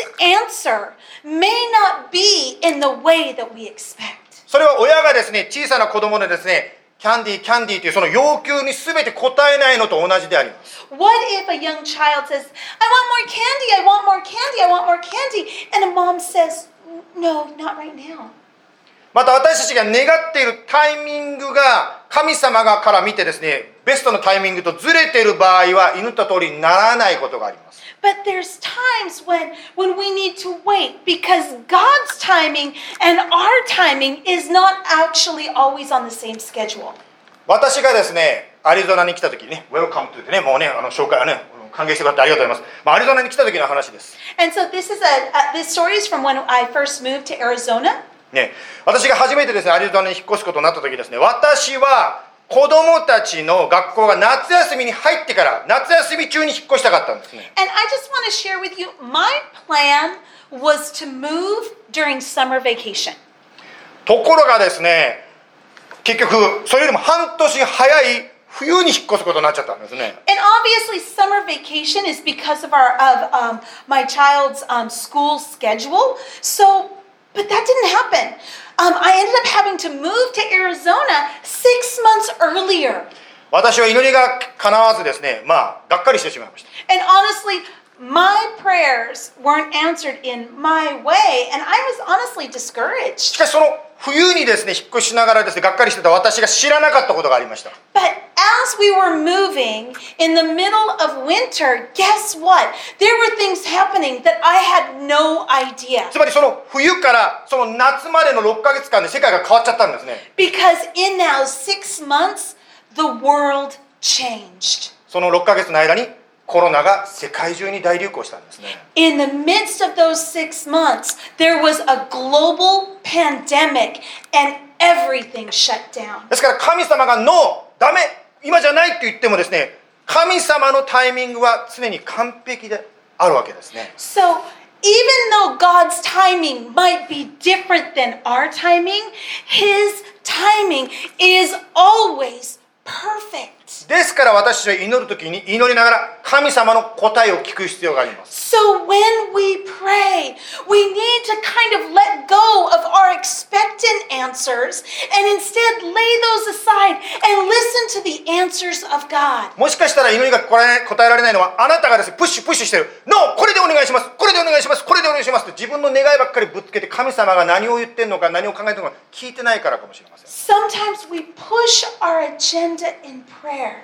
answer may not be in the way that we expect. それは親がですね、小さな子供でですね、 キャンディーキャンディーというその要求に全て応えないのと同じであります。 What if a young child says, I want more candy, I want more candy, I want more candy, and a mom says, no, not right now. また私たちが願っているタイミングが神様がから見てですね、ベストのタイミングとずれている場合は祈った通りにならないことがあります。 But there's times when, when we need to wait because God's timing and our timing is not actually always on the same schedule. 私がですね、アリゾナに来た時にね、Welcome to ね、もうね、あの紹介はね、歓迎してくれてありがとうございます。まあ、アリゾナに来た時の話です。 And so this is a, uh, this story is from when I first moved to Arizona. ね、私が初めてですね、アリゾナに引っ越すことになった時ですね、私は子供たちの学校が夏休みに入ってから夏休み中に引っ越したかったんですね。 And I just want to share with you, my plan was to move during summer vacation. ところがですね、結局それよりも半年早い冬に引っ越すことになっちゃったんですね。 And obviously, summer vacation is because of our of um, my child's um, school schedule. So, but that didn't happen. Um, I ended up having to move to Arizona six months earlier. 私は祈りが叶わずですね、まあがっかりしてしまいました。 And honestly, my prayers weren't answered in my way, and I was honestly し discouraged. かしその冬にですね、引っ越ししながらですね、がっかりしてた私が知らなかったことがありました。 But as we were moving in the middle of winter, guess what? There were things happening that I had no idea. つまりその冬からその夏までのろっかげつかんで世界が変わっちゃったんですね。 Because in now six months, the world changed. そのろっかげつの間にコロナが世界中に大流行したんですね。 In the midst of those six months, there was a global pandemic and everything shut down. ですから神様がノー、ダメ、今じゃないって言ってもですね、神様のタイミングは常に完璧であるわけですね。 So even though God's timing might be different than our timing, His timing is always perfect. ですから私たちは祈るときに祈りながら神様の答えを聞く必要があります。 So when we pray, we need to kind of let go of our expectant answers and instead lay those aside and listen to the answers of God. もしかしたら祈りが答えられないのはあなたがですね、プッシュプッシュしてる。ノー、これでお願いします。これでお願いします。これでお願いしますと自分の願いばっかりぶつけて神様が何を言ってるのか何を考えてるのか聞いてないからかもしれません。 Sometimes we push our agenda in prayer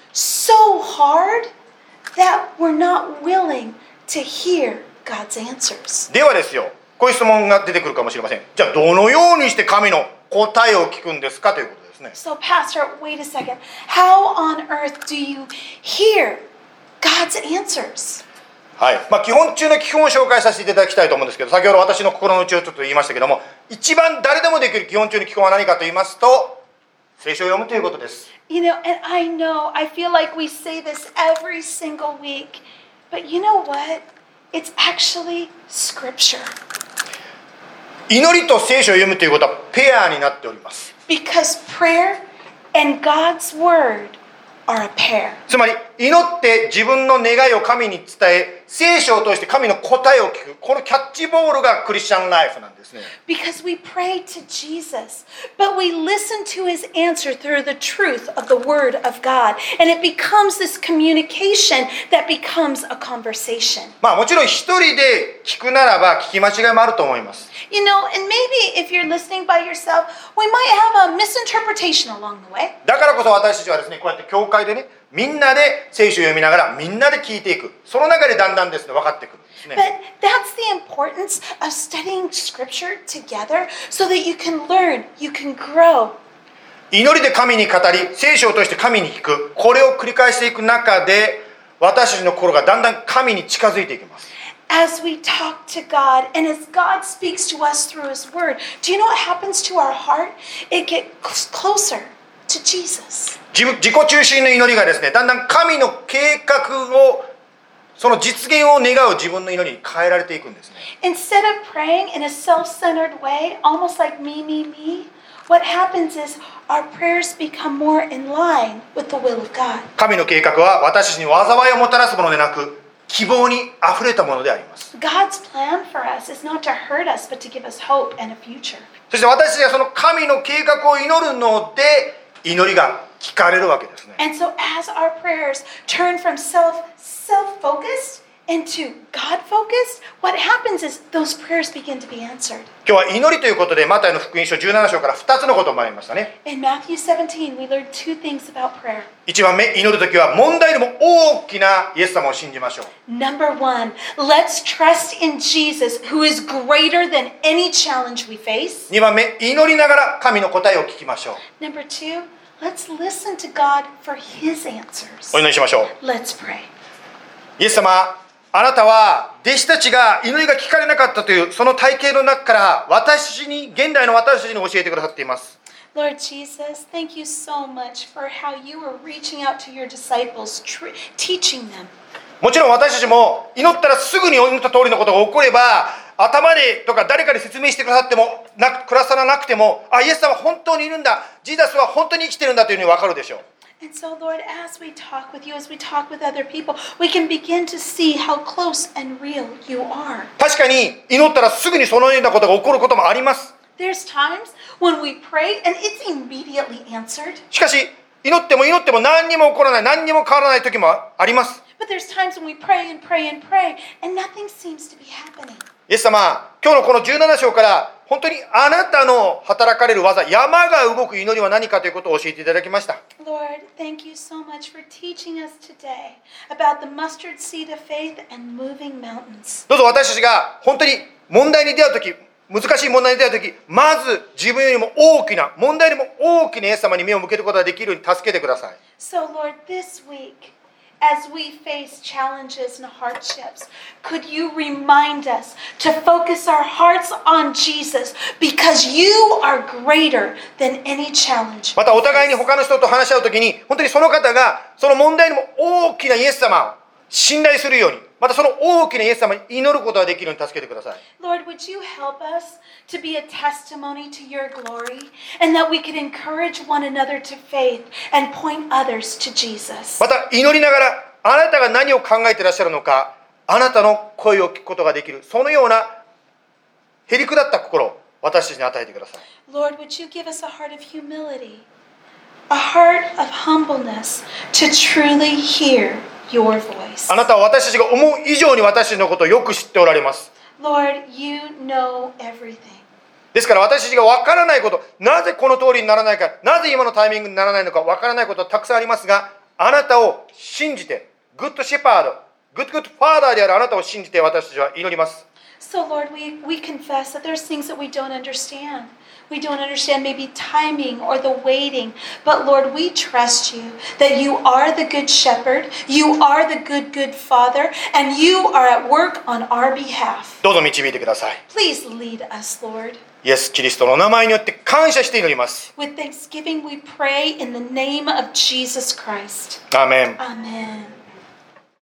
so hard that we're not willing to hear God's answers. ではですよ、こういう質問が出てくるかもしれません。じゃあどのようにして神の答えを聞くんですかということですね。 So Pastor, wait a second. How on earth do you hear God's answers? はい、まあ、基本中の基本を紹介させていただきたいと思うんですけど、先ほど私の心の内をちょっと言いましたけども、一番誰でもできる基本中の基本は何かと言いますと、聖書を読むということです。 You know, and I know, I feel like we say this every single week, but you know what? It's actually scripture. 祈りと聖書を読むということはペアになっております。 Because prayer and God's word are a pair. つまり祈って自分の願いを神に伝え、聖書を通して神の答えを聞く、このキャッチボールがクリスチャンライフなんですね。 Because we pray to Jesus, but we listen to his answer through the truth of the word of God. And it becomes this communication that becomes a conversation. まあもちろん一人で聞くならば聞き間違いもあると思います。 You know, and maybe if you're listening by yourself, we might have a misinterpretation along the way. だからこそ私たちはですね、こうやって教会でね、みんなで聖書を読みながらみんなで聞いていく。その中でだんだんですね、分かってくるんですね。 But that's the importance of studying scripture together so that you can learn, you can grow. 祈りで神に語り、聖書を通して神に聞く。これを繰り返していく中で、私たちの心がだんだん神に近づいていきます。 As we talk to God and as God speaks to us through his word, do you know what happens to our heart? It gets closer to Jesus. 自分自己中心の祈りがですね、だんだん神の計画をその実現を願う自分の祈りに変えられていくんですね。 Instead of praying in a self-centered way, almost like me, me, me, what happens is our prayers become more in line with the will of God. 神の計画は私たちに災いをもたらすものでなく、希望にあふれたものであります。 God's plan for us is not to hurt us, but to give us hope and a future. そして私たちがその神の計画を祈るので、 祈りが聞かれるわけですね。 And so as our prayers turn from self, self-focused into God-focused, what happens is those prayers begin to be answered. 今日は祈りということでマタイの福音書じゅうなな章からふたつのことを学びましたね。 In Matthew seventeen, we learned two things about prayer. いちばんめ、祈るときは問題よりも大きなイエス様を信じましょう。 Number one, let's trust in Jesus, who is greater than any challenge we face. にばんめ、祈りながら神の答えを聞きましょう。 Number two, let's listen to God for His answers. お祈りしましょう。 Let's pray. イエス様、あなたは弟子たちが祈りが聞かれなかったというその体系の中から私に、現代の私たちに教えてくださっています。 Lord Jesus, thank you so much for how you are reaching out to your disciples, tr- teaching them. もちろん私たちも祈ったらすぐに祈った通りのことが起これば、頭でとか誰かに説明してくださってもなく、くださらなくても、あ、イエス様は本当にいるんだ、ジーザスは本当に生きてるんだというふうに分かるでしょう。 And so, Lord, as we talk with you, as we talk with other people, we can begin to see how close and real you are. 確かに祈ったらすぐにそのようなことが起こることもあります。 There's times when we pray and it's immediately answered. しかし祈っても祈っても何にも起こらない、何にも変わらない時もあります。 But there's times when we pray and pray and pray and nothing seems to be happening. イエス様、今日のこのじゅうなな章から本当にあなたの働かれる技、山が動く祈りは何かということを教えていただきました。 Lord, thank you so much for teaching us today about the mustard seed of faith and moving mountains. どうぞ私たちが本当に問題に出会う時、難しい問題に出会う時、まず自分よりも大きな、問題よりも大きなイエス様に目を向けることができるように助けてください。 So, Lord, this week, as we face challenges and hardships, could you remind us to focus our hearts on Jesus because you are greater than any challenge. またお互いに他の人と話し合う時に、本当にその方がその問題よりも大きなイエス様を信頼するように、またその大きなイエス様に祈ることができるように助けてください。 Lord, would you help us to be a testimony to your glory and that we could encourage one another to faith and point others to Jesus. また祈りながらあなたが何を考えていらっしゃるのか、あなたの声を聞くことができる、そのようなへりくだった心を私たちに与えてください。 Lord, would you give us a heart of humility, a heart of humbleness to truly hear your voice. あなたは私たちが思う以上に私たちのことをよく知っておられます。 Lord, you know everything. ですから私たちが分からないこと、なぜこの通りにならないか、なぜ今のタイミングにならないのか分からないことはたくさんありますが、あなたを信じて、グッドシェパード、グッドグッドファーダーであるあなたを信じて私たちは祈ります。 So, Lord, we, we confess that there's things that we don't understand. We don't understand maybe timing or the waiting. But, Lord, we trust you that you are the good shepherd, you are the good, good father, and you are at work on our behalf. どうぞ導いてください。 Please lead us, Lord. イエス・キリストの名前によって感謝して祈ります。 With thanksgiving, we pray in the name of Jesus Christ. アーメン。 Amen.